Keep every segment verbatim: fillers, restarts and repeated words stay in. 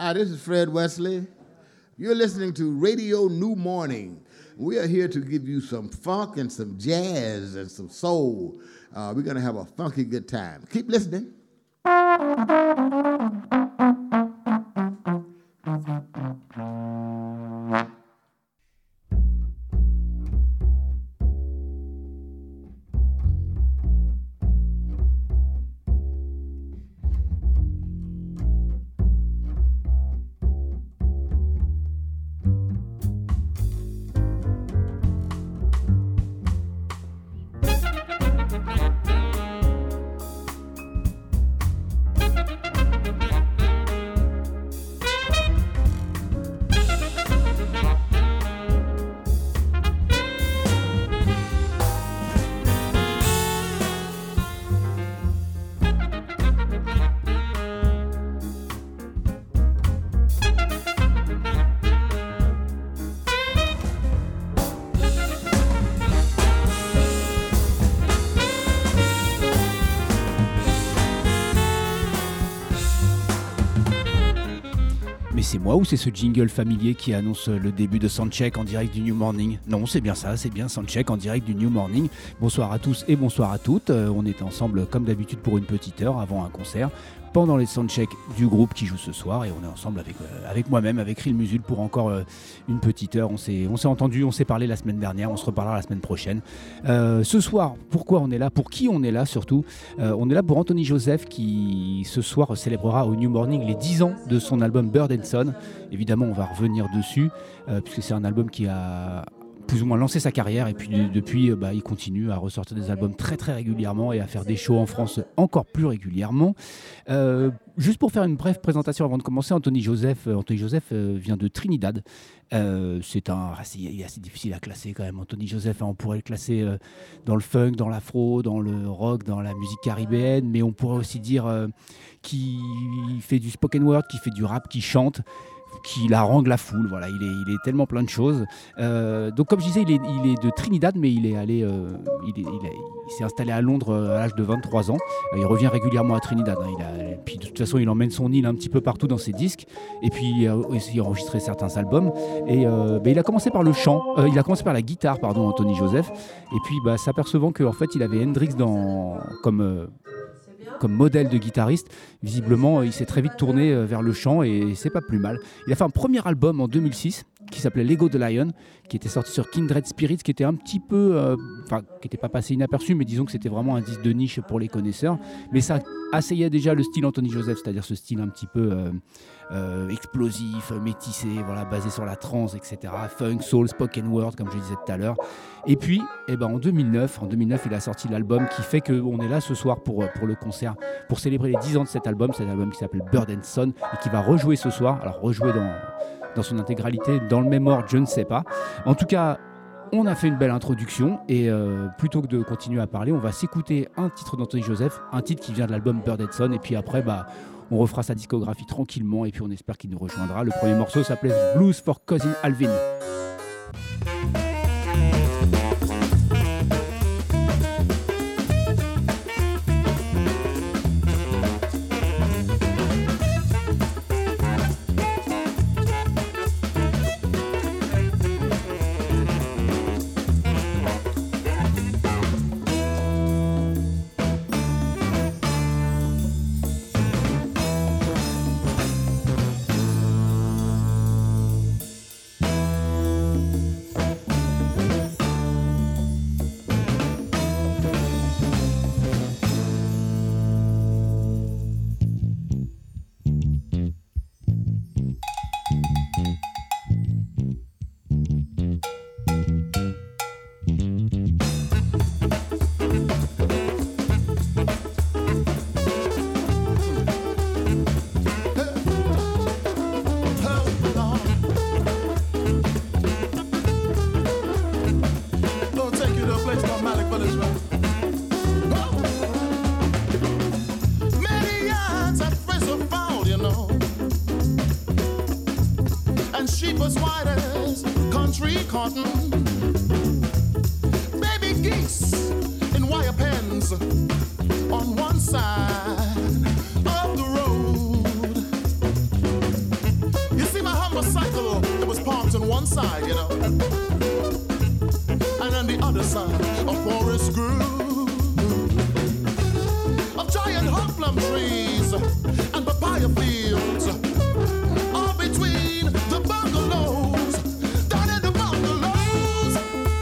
Hi, this is Fred Wesley. You're listening to Radio New Morning. We are here to give you some funk and some jazz and some soul. Uh, we're going to have a funky good time. Keep listening. C'est moi ou c'est ce jingle familier qui annonce le début de Soundcheck en direct du New Morning? Non, c'est bien ça, c'est bien Soundcheck en direct du New Morning. Bonsoir à tous et bonsoir à toutes. Euh, on est ensemble comme d'habitude pour une petite heure avant un concert, pendant les soundchecks du groupe qui joue ce soir, et on est ensemble avec, euh, avec moi-même, avec Ril Musul pour encore euh, une petite heure. On s'est, on s'est entendu, on s'est parlé la semaine dernière, on se reparlera la semaine prochaine. Euh, ce soir, pourquoi on est là? Pour qui on est là surtout? euh, On est là pour Anthony Joseph qui ce soir célébrera au New Morning les dix ans de son album Bird and Son. Évidemment, on va revenir dessus, euh, puisque c'est un album qui a plus ou moins lancé sa carrière, et puis de, depuis bah, il continue à ressortir des albums très très régulièrement et à faire des shows en France encore plus régulièrement. Euh, juste pour faire une brève présentation avant de commencer, Anthony Joseph, euh, Anthony Joseph euh, vient de Trinidad. Euh, c'est un, assez, il est assez difficile à classer quand même. Anthony Joseph, hein, on pourrait le classer euh, dans le funk, dans l'afro, dans le rock, dans la musique caribéenne, mais on pourrait aussi dire euh, qu'il fait du spoken word, qu'il fait du rap, qu'il chante, qui harangue la foule. Voilà, il est, il est tellement plein de choses. Euh, donc, comme je disais, il est, il est de Trinidad, mais il est allé, euh, il, est, il, est, il s'est installé à Londres à l'âge de vingt-trois ans. Euh, il revient régulièrement à Trinidad. Hein. Il a, puis de toute façon, il emmène son île un petit peu partout dans ses disques. Et puis, euh, il a enregistré certains albums. Et euh, bah, il a commencé par le chant. Euh, il a commencé par la guitare, pardon, Anthony Joseph. Et puis, bah, s'apercevant qu'en fait, il avait Hendrix dans comme euh, comme modèle de guitariste, visiblement il s'est très vite tourné vers le chant et c'est pas plus mal. Il a fait un premier album en deux mille six qui s'appelait Lego the Lion, qui était sorti sur Kindred Spirits, qui était un petit peu, euh, enfin qui n'était pas passé inaperçu, mais disons que c'était vraiment un disque de niche pour les connaisseurs. Mais ça asseyait déjà le style Anthony Joseph, c'est-à-dire ce style un petit peu euh, euh, explosif, métissé, voilà, basé sur la trance, et cetera. Funk, soul, spoken word, comme je disais tout à l'heure. Et puis, eh ben, en deux mille neuf, en deux mille neuf, il a sorti l'album qui fait qu'on est là ce soir pour, pour le concert, pour célébrer les dix ans de cet album. C'est un album qui s'appelle Bird and Son et qui va rejouer ce soir. Alors, rejouer dans, dans son intégralité, dans le même ordre, je ne sais pas. En tout cas, on a fait une belle introduction et euh, plutôt que de continuer à parler, on va s'écouter un titre d'Anthony Joseph, un titre qui vient de l'album Bird and Son, et puis après, bah, on refera sa discographie tranquillement et puis on espère qu'il nous rejoindra. Le premier morceau s'appelait Blues for Cousin Alvin. On one side of the road, on one side, you know, and on the other side, a forest grew of giant hot plum trees and papaya fields. All between the bungalows, down in the bungalows.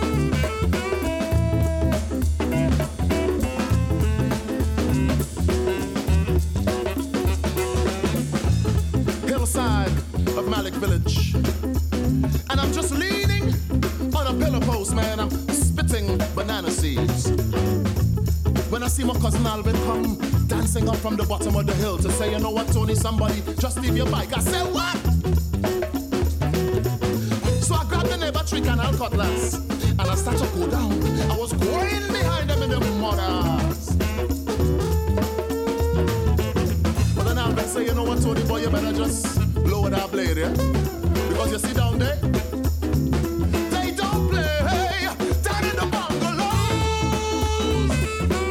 Hillside of Malik Village, and I'm just leaning on a pillar post, man. I'm spitting banana seeds when I see my cousin Alvin come dancing up from the bottom of the hill to say, you know what, Tony, somebody just leave your bike. I said, what? So I grabbed the neighbor trick and I'll cutlass, and I started to go down. I was going behind them in the mothers. But then Alvin say, you know what, Tony, boy, you better just lower that blade, yeah? Because you see down there, they don't play down in the bungalows.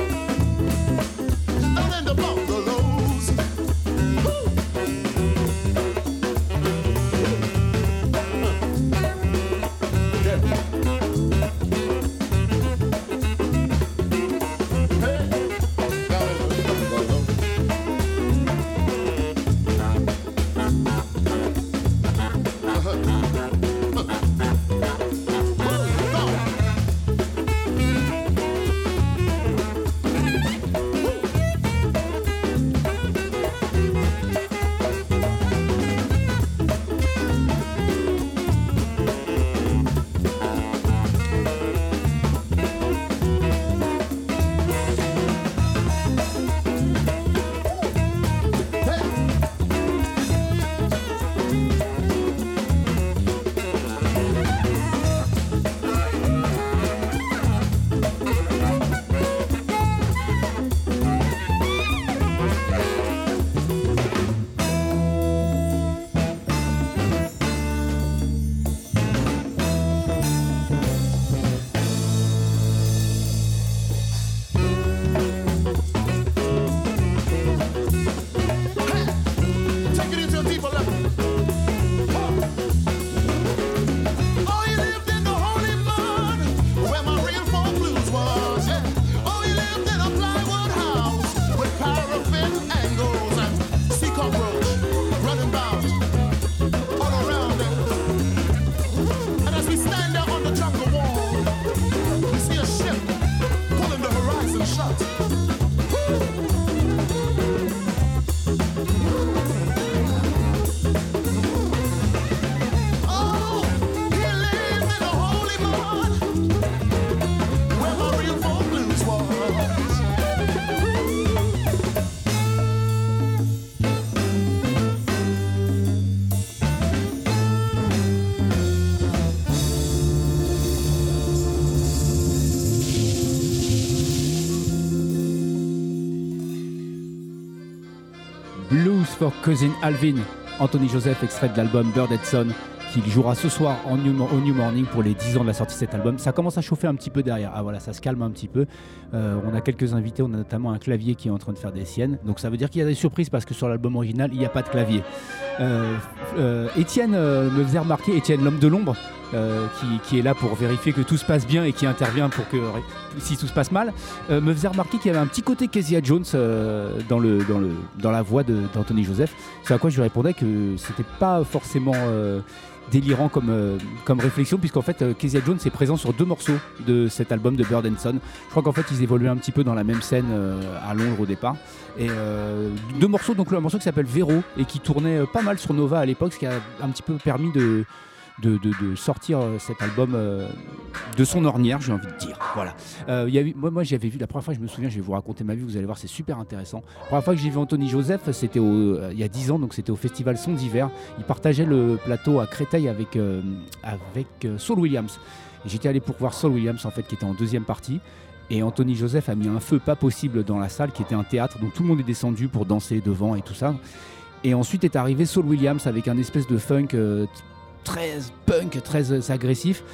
Down in the bungalows. Woo. Yeah. Hey, down in the bungalows. Blues for Cousin Alvin, Anthony Joseph, extrait de l'album Bird and Son, qui jouera ce soir en New, au New Morning pour les dix ans de la sortie de cet album. Ça commence à chauffer un petit peu derrière. Ah voilà, ça se calme un petit peu. Euh, on a quelques invités, on a notamment un clavier qui est en train de faire des siennes. Donc ça veut dire qu'il y a des surprises parce que sur l'album original, il n'y a pas de clavier. Euh, euh, Étienne euh, me faisait remarquer, Étienne l'homme de l'ombre, euh, qui, qui est là pour vérifier que tout se passe bien et qui intervient pour que si tout se passe mal, euh, me faisait remarquer qu'il y avait un petit côté Kezia Jones euh, dans, le, dans, le, dans la voix de, d'Anthony Joseph. C'est à quoi je lui répondais que c'était pas forcément euh, délirant comme, euh, comme réflexion, puisqu'en fait euh, Kezia Jones est présent sur deux morceaux de cet album de Bird and Son. Je crois qu'en fait ils évoluaient un petit peu dans la même scène euh, à Londres au départ. Et euh, deux morceaux, donc un morceau qui s'appelle Véro et qui tournait euh, pas mal sur Nova à l'époque, ce qui a un petit peu permis de De, de, de sortir cet album euh, de son ornière, j'ai envie de dire. Voilà. Euh, y a eu, moi, moi, j'avais vu la première fois, je me souviens, je vais vous raconter ma vie, vous allez voir, c'est super intéressant. La première fois que j'ai vu Anthony Joseph, c'était au, euh, il y a dix ans, donc c'était au festival Son d'hiver. Il partageait le plateau à Créteil avec, euh, avec euh, Saul Williams. Et j'étais allé pour voir Saul Williams, en fait, qui était en deuxième partie. Et Anthony Joseph a mis un feu pas possible dans la salle, qui était un théâtre, donc tout le monde est descendu pour danser devant et tout ça. Et ensuite est arrivé Saul Williams avec un espèce de funk. Euh, très punk, très agressif.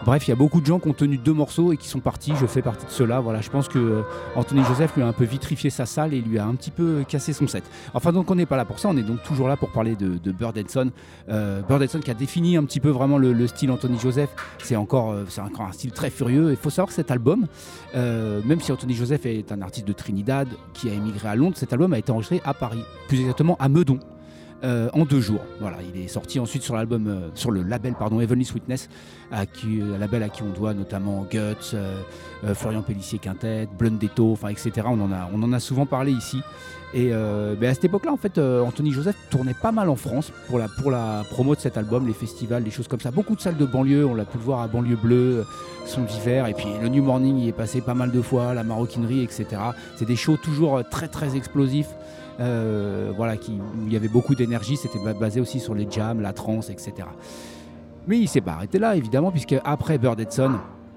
Bref, il y a beaucoup de gens qui ont tenu deux morceaux et qui sont partis. Je fais partie de ceux-là. Voilà, je pense que euh, Anthony Joseph lui a un peu vitrifié sa salle et lui a un petit peu cassé son set. Enfin, donc on n'est pas là pour ça. On est donc toujours là pour parler de, de Bird Edson. Euh, Bird Edson qui a défini un petit peu vraiment le, le style Anthony Joseph. C'est encore, euh, c'est encore un style très furieux. Il faut savoir que cet album, euh, même si Anthony Joseph est un artiste de Trinidad qui a émigré à Londres, cet album a été enregistré à Paris, plus exactement à Meudon. Euh, en deux jours. Voilà, il est sorti ensuite sur l'album, euh, sur le label pardon, Heavenly Sweetness, à qui, un label à qui on doit notamment Guts, euh, euh, Florian Pellissier-Quintet, Blundetto, enfin et cetera. On en a, on en a souvent parlé ici. Et euh, ben à cette époque-là, en fait, euh, Anthony Joseph tournait pas mal en France pour la, pour la promo de cet album, les festivals, les choses comme ça. Beaucoup de salles de banlieue, on l'a pu le voir à Banlieue Bleue, Son d'hiver, et puis le New Morning y est passé pas mal de fois, la Maroquinerie, et cetera. C'est des shows toujours très très explosifs. Euh, voilà, qui, où il y avait beaucoup d'énergie, c'était basé aussi sur les jams, la trance, et cetera. Mais il s'est pas arrêté là, évidemment, puisque après Bird Edson,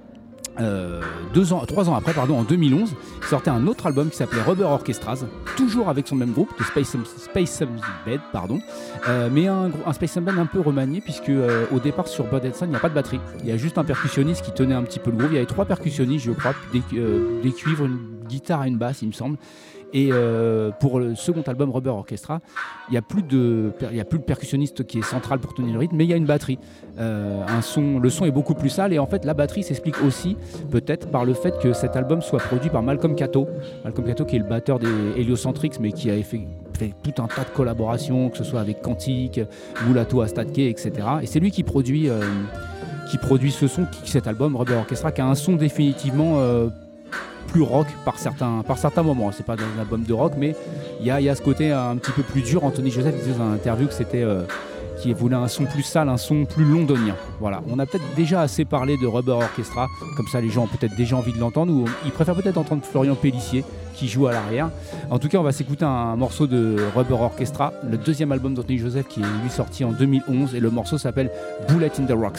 euh, deux ans, trois ans après, pardon, en deux mille onze, il sortait un autre album qui s'appelait Rubber Orchestras, toujours avec son même groupe, de Space Space Bed, pardon, euh, mais un, un Space Bed un peu remanié, puisque euh, au départ sur Bird Edson, il n'y a pas de batterie, il y a juste un percussionniste qui tenait un petit peu le groove. Il y avait trois percussionnistes, je crois, des, euh, des cuivres, une guitare et une basse, il me semble. Et euh, pour le second album Rubber Orchestra, il n'y a plus de, il y a plus de percussionniste qui est central pour tenir le rythme, mais il y a une batterie. Euh, un son, le son est beaucoup plus sale et en fait la batterie s'explique aussi peut-être par le fait que cet album soit produit par Malcolm Cato. Malcolm Cato qui est le batteur des Heliocentrics, mais qui a fait, fait tout un tas de collaborations, que ce soit avec Quantique, Mulato Astatke, et cetera. Et c'est lui qui produit, euh, qui produit ce son, qui, cet album Rubber Orchestra, qui a un son définitivement euh, plus rock par certains, par certains moments. C'est pas un album de rock, mais il y a, y a ce côté un petit peu plus dur. Anthony Joseph disait dans une interview que c'était euh, qu'il voulait un son plus sale, un son plus londonien. Voilà, on a peut-être déjà assez parlé de Rubber Orchestra, comme ça les gens ont peut-être déjà envie de l'entendre, ou ils préfèrent peut-être entendre Florian Pellissier qui joue à l'arrière. En tout cas, on va s'écouter un morceau de Rubber Orchestra, le deuxième album d'Anthony Joseph qui est lui sorti en deux mille onze, et le morceau s'appelle Bullet in the Rocks.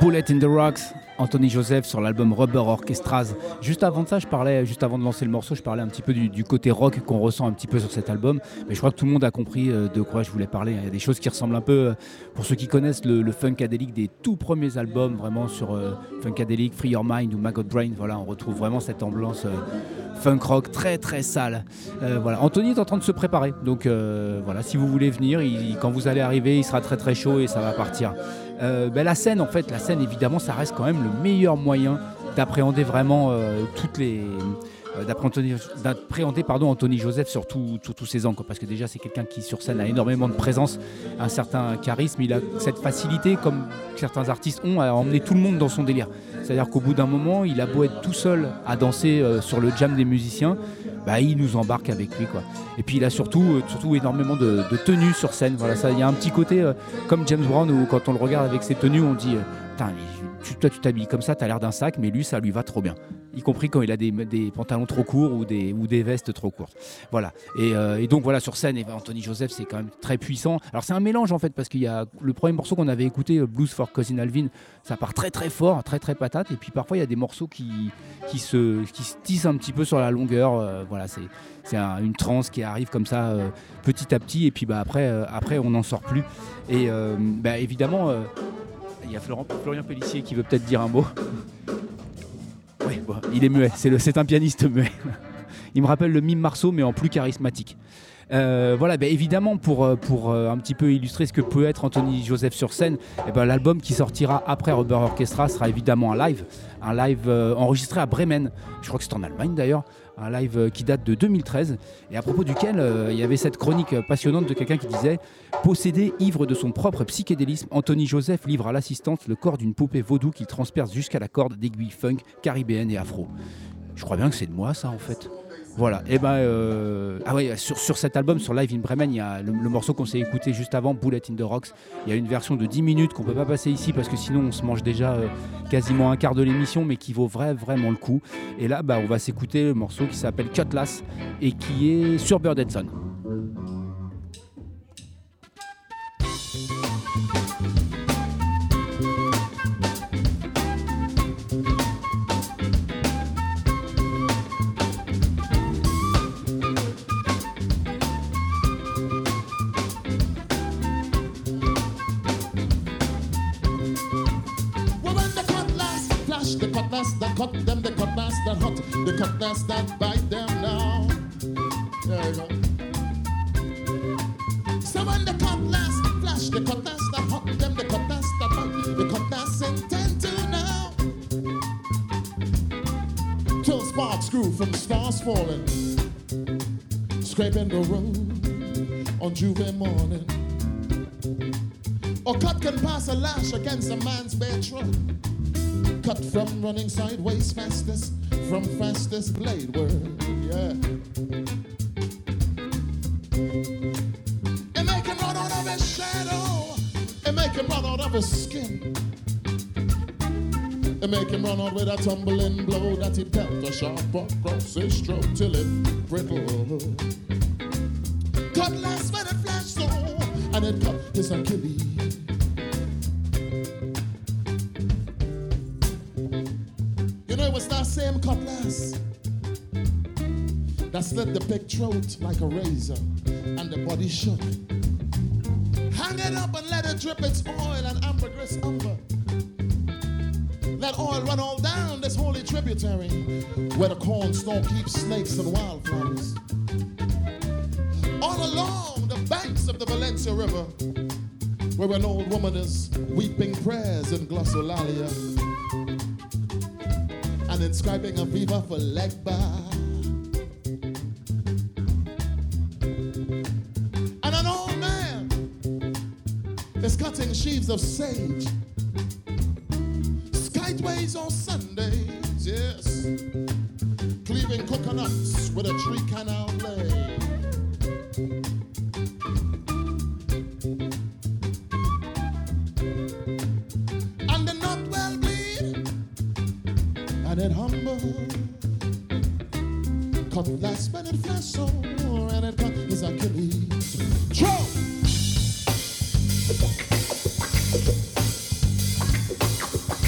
Bullet in the Rocks, Anthony Joseph sur l'album Rubber Orchestras. Juste avant de ça, je parlais, juste avant de lancer le morceau, je parlais un petit peu du, du côté rock qu'on ressent un petit peu sur cet album. Mais je crois que tout le monde a compris de quoi je voulais parler. Il y a des choses qui ressemblent un peu, pour ceux qui connaissent le, le Funkadelic des tout premiers albums, vraiment sur euh, Funkadelic, Free Your Mind ou Maggot Brain. Voilà, on retrouve vraiment cette ambiance euh, funk rock très très sale. Euh, voilà, Anthony est en train de se préparer. Donc euh, voilà, si vous voulez venir, il, quand vous allez arriver, il sera très très chaud et ça va partir. Euh, ben la scène, en fait, la scène, évidemment, ça reste quand même le meilleur moyen d'appréhender vraiment euh, toutes les, euh, d'appréhender, d'appréhender pardon Anthony Joseph sur, tout, sur tous ses angles, parce que déjà c'est quelqu'un qui sur scène a énormément de présence, un certain charisme, il a cette facilité, comme certains artistes ont, à emmener tout le monde dans son délire. C'est-à-dire qu'au bout d'un moment, il a beau être tout seul à danser euh, sur le jam des musiciens, bah, il nous embarque avec lui, quoi. Et puis il a surtout, euh, surtout énormément de, de tenues sur scène. Voilà, ça, il y a un petit côté euh, comme James Brown où quand on le regarde avec ses tenues, on dit euh, putain, tu, toi tu t'habilles comme ça, t'as l'air d'un sac, mais lui ça lui va trop bien. Y compris quand il a des, des pantalons trop courts ou des, ou des vestes trop courtes. Voilà. Et, euh, et donc voilà, sur scène, et ben, Anthony Joseph c'est quand même très puissant. Alors c'est un mélange en fait, parce qu'il y a le premier morceau qu'on avait écouté, Blues for Cousin Alvin, ça part très très fort, très très patate. Et puis parfois il y a des morceaux qui, qui, se, qui se tissent un petit peu sur la longueur. Euh, voilà, c'est, c'est un, une transe qui arrive comme ça euh, petit à petit. Et puis bah, après, euh, après on n'en sort plus. Et euh, bah, évidemment, euh, il y a Florent, Florian Pellissier qui veut peut-être dire un mot. Oui, bon, il est muet, c'est, le, c'est un pianiste muet. Il me rappelle le Mime Marceau, mais en plus charismatique. Euh, voilà, bah évidemment, pour, pour euh, un petit peu illustrer ce que peut être Anthony Joseph sur scène, eh ben, l'album qui sortira après Rubber Orchestra sera évidemment un live, un live euh, enregistré à Bremen, je crois que c'est en Allemagne d'ailleurs, un live euh, qui date de deux mille treize, et à propos duquel euh, il y avait cette chronique passionnante de quelqu'un qui disait « Possédé, ivre de son propre psychédélisme, Anthony Joseph livre à l'assistante le corps d'une poupée vaudou qu'il transperce jusqu'à la corde d'aiguilles funk, caribéenne et afro. » Je crois bien que c'est de moi ça en fait. Voilà, et ben euh, ah ouais, sur, sur cet album, sur Live in Bremen, il y a le, le morceau qu'on s'est écouté juste avant, Bullet in the Rocks. Il y a une version de dix minutes qu'on peut pas passer ici parce que sinon on se mange déjà euh, quasiment un quart de l'émission, mais qui vaut vrai, vraiment le coup. Et là, bah, on va s'écouter le morceau qui s'appelle Cutlass et qui est sur Bird and Son. The cutlass that cut them, the cutlass that hot, the cutlass that bite them now. There you go. So when the cutlass flash, the cutlass that hot them, the cutlass that bite, the cutlass intend to now. Till sparks grew from stars falling, scraping the road on Juve morning. Or cut can pass a lash against a man's bare trunk. Cut from running sideways fastest, from fastest blade word, yeah. It make him run out of his shadow, it make him run out of his skin. It make him run out with a tumbling blow that he dealt a sharp across his throat till it brittle. Cutlass when it flashed so, and it cut his Achilles. You know it was that same cutlass that slit the big throat like a razor and the body shook. Hang it up and let it drip its oil and ambergris umber. Let oil run all down this holy tributary where the cornstalk keeps snakes and wildflowers. All along the banks of the Valencia River where an old woman is weeping prayers in glossolalia and inscribing a viva for Legba. And an old man is cutting sheaves of sage, skyways on Sundays, yes, cleaving coconuts with a tree canal blade. And the nut well bleed, and it humble. Cutlass when it flash so, and it cut his Achilles. Throw!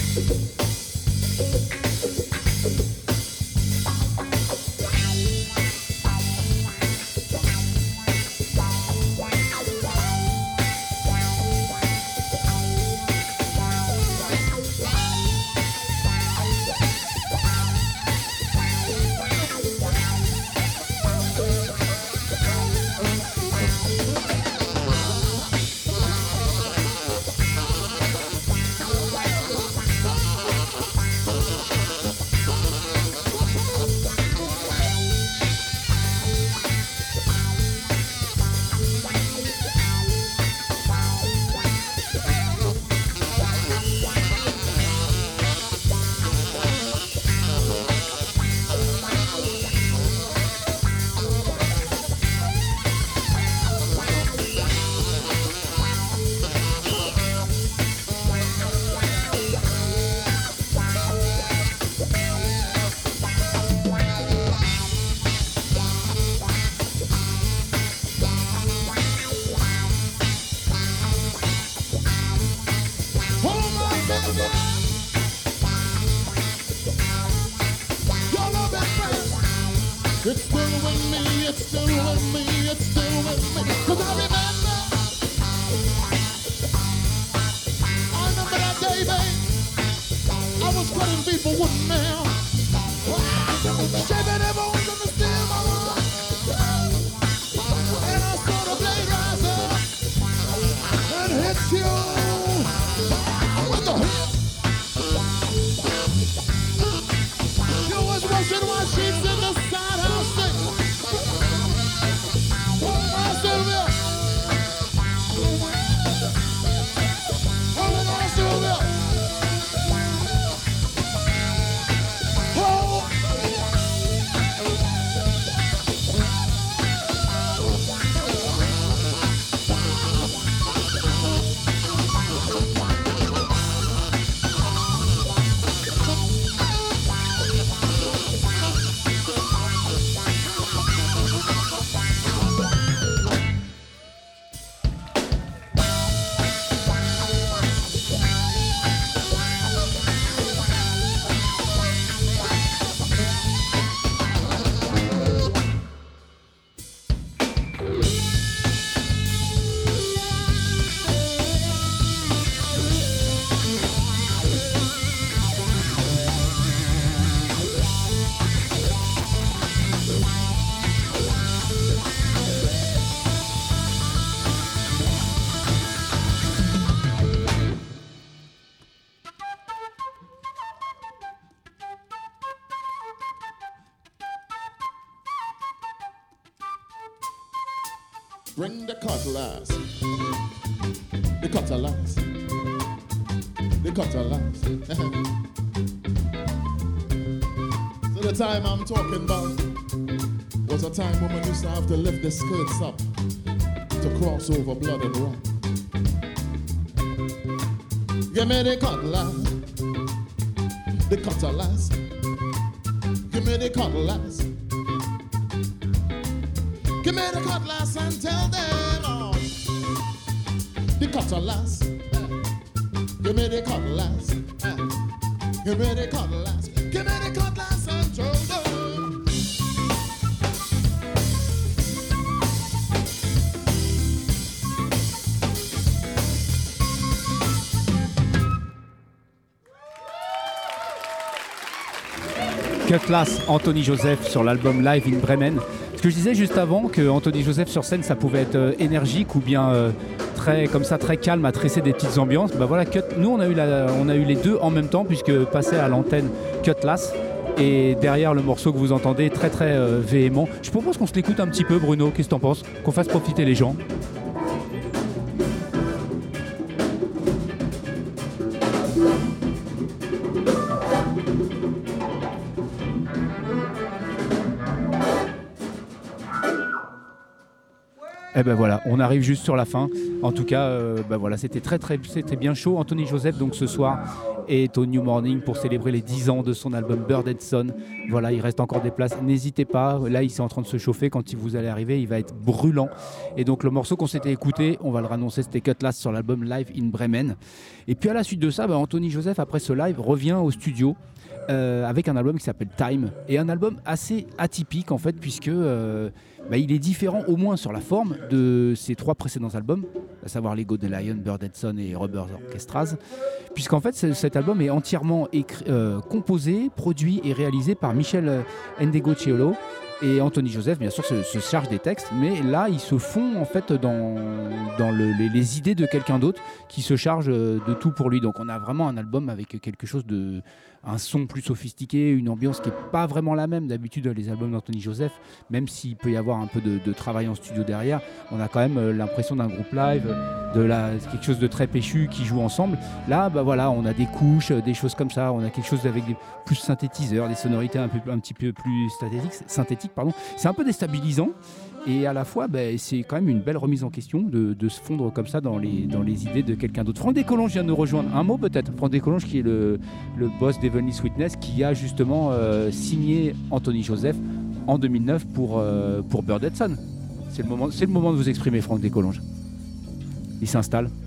Your love is friends. It's still with me, it's still with me, it's still with me. Cause I remember, I remember that day, babe. I was cutting people with nail. Shaving their bones on the stem of my life. And I saw the blade rise up and hit you with the hip. You was washing my sheets in the side house sink. I still will. Hold on, I still will. Oh. Bring the cutlass, the cutlass, the cutlass. So the time I'm talking about was a time women used to have to lift their skirts up to cross over blood and rock. Give me the cutlass, the cutlass. Give me the cutlass. Give me the cutlass and tell them all. The cutlass. Give me the cutlass. Give me the cutlass. Give me the cutlass and tell them. Cutlass, Anthony Joseph sur l'album Live in Bremen. Ce que je disais juste avant, que Anthony Joseph sur scène, ça pouvait être euh, énergique ou bien euh, très comme ça, très calme, à tresser des petites ambiances. Bah voilà, Cut, nous on a eu la, on a eu les deux en même temps puisque passé à l'antenne Cutlass et derrière le morceau que vous entendez très très euh, véhément. Je propose qu'on se l'écoute un petit peu, Bruno. Qu'est-ce que t'en penses? Qu'on fasse profiter les gens. Eh ben voilà, on arrive juste sur la fin. En tout cas, euh, ben voilà, c'était très très, c'était bien chaud. Anthony Joseph donc ce soir est au New Morning pour célébrer les dix ans de son album Bird and Son. Voilà, il reste encore des places. N'hésitez pas. Là, il est en train de se chauffer. Quand vous allez arriver, il va être brûlant. Et donc le morceau qu'on s'était écouté, on va le annoncer, c'était Cutlass sur l'album Live in Bremen. Et puis à la suite de ça, ben, Anthony Joseph après ce live revient au studio. Euh, avec un album qui s'appelle Time, et un album assez atypique en fait, puisque euh, bah, il est différent au moins sur la forme de ses trois précédents albums, à savoir Lego the Lion, Bird and Son et Rubber Orchestras, puisqu'en fait cet album est entièrement écrit, euh, composé, produit et réalisé par Michel Ndegeocello. Et Anthony Joseph, bien sûr, se, se charge des textes, mais là, ils se font en fait dans, dans le, les, les idées de quelqu'un d'autre qui se charge de tout pour lui. Donc, on a vraiment un album avec quelque chose de, un son plus sophistiqué, une ambiance qui n'est pas vraiment la même d'habitude les albums d'Anthony Joseph, même s'il peut y avoir un peu de, de travail en studio derrière. On a quand même l'impression d'un groupe live, de la, quelque chose de très péchu qui joue ensemble. Là, bah voilà, on a des couches, des choses comme ça. On a quelque chose avec des plus synthétiseurs, des sonorités un, peu, un petit peu plus synthétiques. synthétiques pardon. C'est un peu déstabilisant. Et à la fois, bah, c'est quand même une belle remise en question de, de se fondre comme ça dans les, dans les idées de quelqu'un d'autre. Franck Descolonges vient de nous rejoindre. Un mot peut-être. Franck Descolonges qui est le, le boss d'Heavenly Sweetness, qui a justement euh, signé Anthony Joseph en deux mille neuf pour, euh, pour Bird and Son. C'est le moment, c'est le moment de vous exprimer, Franck Descolonges. Il s'installe.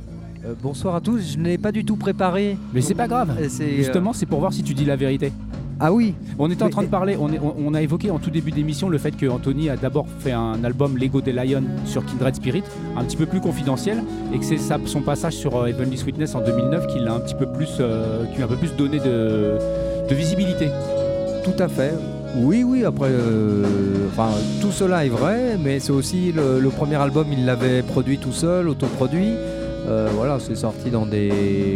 Euh, bonsoir à tous, je n'ai pas du tout préparé. Mais c'est pas grave. C'est, Justement, euh... c'est pour voir si tu dis la vérité. Ah oui. On était en Mais... train de parler, on, est, on, on a évoqué en tout début d'émission le fait que Anthony a d'abord fait un album Lego The Lion sur Kindred Spirit, un petit peu plus confidentiel, et que c'est sa, son passage sur euh, Heavenly Sweetness en deux mille neuf qui l'a un petit peu plus, euh, qui lui a un peu plus donné de, de visibilité. Tout à fait. Oui, oui, après, euh, enfin, tout cela est vrai, mais c'est aussi le, le premier album, il l'avait produit tout seul, autoproduit. Euh, voilà, c'est sorti dans des...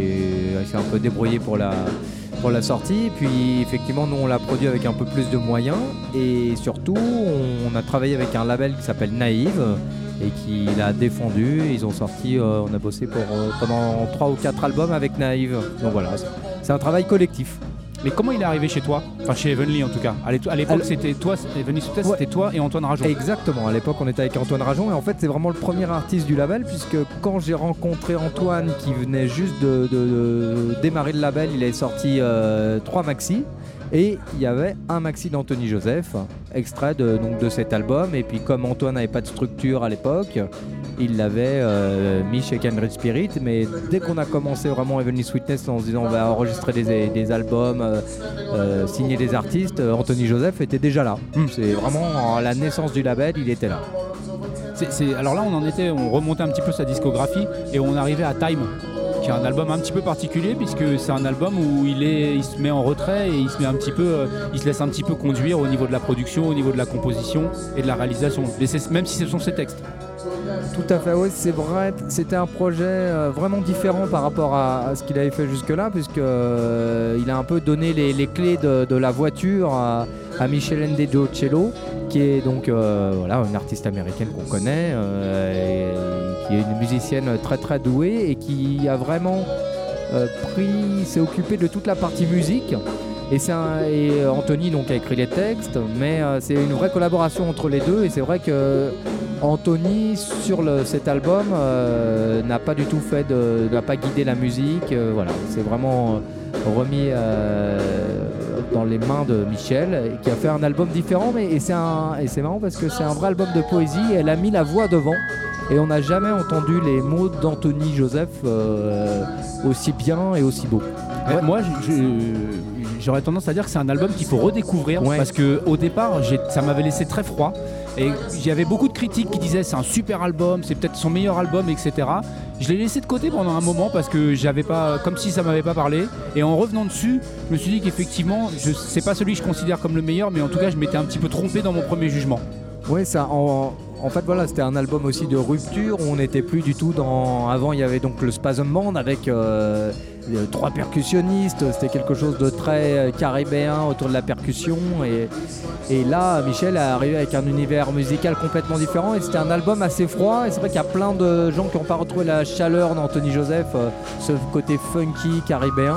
Il s'est un peu débrouillé pour la, pour la sortie. Puis effectivement, nous, on l'a produit avec un peu plus de moyens. Et surtout, on, on a travaillé avec un label qui s'appelle Naïve et qui l'a défendu. Ils ont sorti, euh, on a bossé pour, euh, pendant trois ou quatre albums avec Naïve. Donc voilà, c'est, c'est un travail collectif. Mais comment il est arrivé chez toi? Enfin, chez Heavenly en tout cas. À l'époque, Alors, c'était toi, Heavenly Sweetness, ouais. C'était toi et Antoine Rajon. Exactement. À l'époque, on était avec Antoine Rajon et en fait, c'est vraiment le premier artiste du label puisque quand j'ai rencontré Antoine qui venait juste de, de, de démarrer le label, il avait sorti euh, trois maxi et il y avait un maxi d'Anthony Joseph, extrait de, donc, de cet album. Et puis, comme Antoine n'avait pas de structure à l'époque, il l'avait euh, mis chez Kindred Spirit, mais dès qu'on a commencé vraiment Heavenly Sweetness en se disant on va enregistrer des, des albums, euh, euh, signer des artistes, Anthony Joseph était déjà là. Mmh. C'est vraiment à la naissance du label, il était là. C'est, c'est, alors là, on en était, on remontait un petit peu sa discographie et on arrivait à Time, qui est un album un petit peu particulier puisque c'est un album où il, est, il se met en retrait et il se met un petit peu, euh, il se laisse un petit peu conduire au niveau de la production, au niveau de la composition et de la réalisation, même si ce sont ses textes. Tout à fait, oui, c'est vrai. C'était un projet euh, vraiment différent par rapport à, à ce qu'il avait fait jusque-là, puisqu'il euh, a un peu donné les, les clés de, de la voiture à, à Michelene De Giocello, qui est donc euh, voilà, une artiste américaine qu'on connaît, euh, et qui est une musicienne très très douée et qui a vraiment euh, pris, s'est occupé de toute la partie musique. Et, c'est un, et Anthony donc, a écrit les textes, mais euh, c'est une vraie collaboration entre les deux. Et c'est vrai que Anthony, sur le, cet album, euh, n'a pas du tout fait de, n'a pas guidé la musique. Euh, voilà, c'est vraiment remis euh, dans les mains de Michel, qui a fait un album différent. Mais, et, c'est un, et c'est marrant parce que c'est un vrai album de poésie. Elle a mis la voix devant. Et on n'a jamais entendu les mots d'Anthony Joseph euh, aussi bien et aussi beaux. Ouais. Moi, je, je, j'aurais tendance à dire que c'est un album qu'il faut redécouvrir, ouais. Parce qu'au départ, j'ai, ça m'avait laissé très froid. Et il y avait beaucoup de critiques qui disaient c'est un super album, c'est peut-être son meilleur album, et cetera. Je l'ai laissé de côté pendant un moment parce que j'avais pas, comme si ça m'avait pas parlé. Et en revenant dessus, je me suis dit qu'effectivement, je, c'est pas celui que je considère comme le meilleur, mais en tout cas, je m'étais un petit peu trompé dans mon premier jugement. Oui, ça. En... En fait, voilà, c'était un album aussi de rupture où on n'était plus du tout dans... Avant, il y avait donc le Spasm Band avec euh, trois percussionnistes. C'était quelque chose de très caribéen autour de la percussion. Et, et là, Michel est arrivé avec un univers musical complètement différent. Et c'était un album assez froid. Et c'est vrai qu'il y a plein de gens qui n'ont pas retrouvé la chaleur d'Anthony Joseph, euh, ce côté funky caribéen.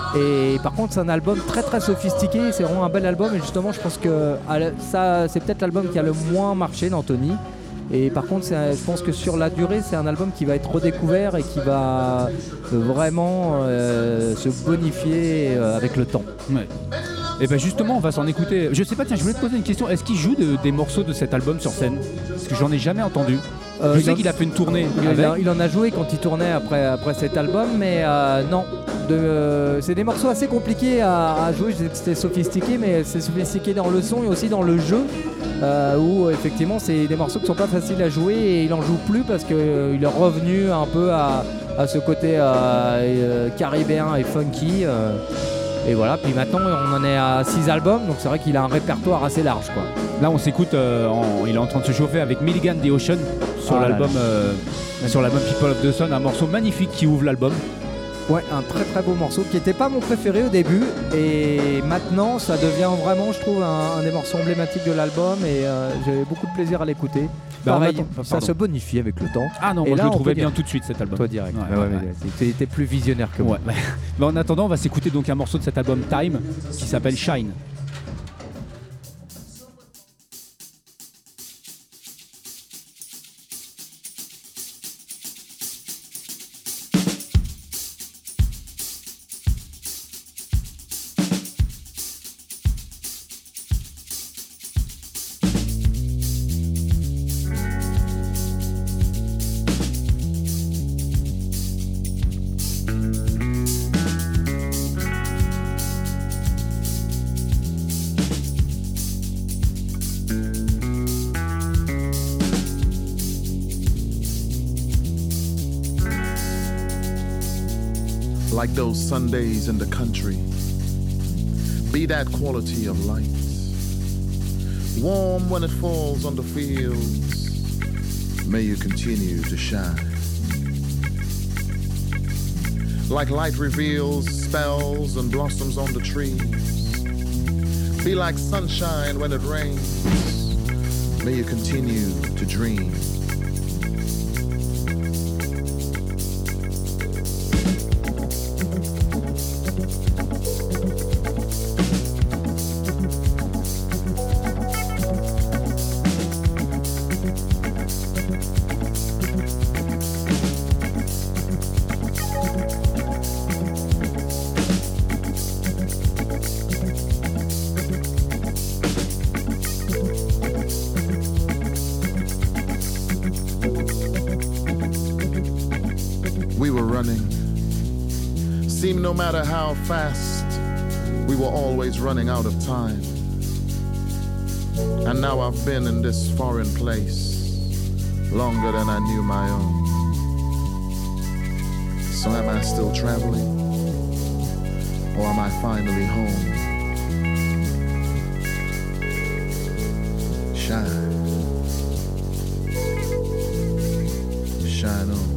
Et par contre, c'est un album très très sophistiqué. C'est vraiment un bel album. Et justement, je pense que ça, c'est peut-être l'album qui a le moins marché d'Anthony. Et par contre, c'est, je pense que sur la durée, c'est un album qui va être redécouvert et qui va vraiment euh, se bonifier euh, avec le temps. Ouais. Et bien justement, on va s'en écouter. Je sais pas, tiens, je voulais te poser une question. Est-ce qu'il joue de, des morceaux de cet album sur scène? Parce que j'en ai jamais entendu. Euh, je sais qu'il a fait une tournée. Il, avec. A, il en a joué quand il tournait après, après cet album, mais euh, non. De, euh, c'est des morceaux assez compliqués à, à jouer. Je disais que c'était sophistiqué, mais c'est sophistiqué dans le son et aussi dans le jeu. Euh, où effectivement, c'est des morceaux qui sont pas faciles à jouer et il en joue plus parce qu'il euh, est revenu un peu à, à ce côté euh, euh, caribéen et funky. Euh, Et voilà, puis maintenant on en est à six albums, donc c'est vrai qu'il a un répertoire assez large, quoi. Là on s'écoute, euh, en, il est en train de se chauffer avec Milligan The Ocean sur, ah, l'album, euh, sur l'album People of the Sun, un morceau magnifique qui ouvre l'album. Ouais, un très très beau morceau qui n'était pas mon préféré au début et maintenant ça devient vraiment, je trouve, un, un des morceaux emblématiques de l'album et euh, j'avais beaucoup de plaisir à l'écouter. Bah, Pareil, attend, ça se bonifie avec le temps. Ah non, et moi là, je le trouvais bien dire... tout de suite cet album. Toi direct. Ouais, ouais, ouais, ouais, ouais. Tu étais plus visionnaire que moi. Ouais. Mais en attendant, on va s'écouter donc un morceau de cet album Time qui s'appelle Shine. like those Sundays in the country. Be that quality of light, warm when it falls on the fields. May you continue to shine. Like light reveals spells and blossoms on the trees. Be like sunshine when it rains. May you continue to dream. No matter how fast, we were always running out of time. And now I've been in this foreign place longer than I knew my own. So am I still traveling? Or am I finally home? Shine. Shine on.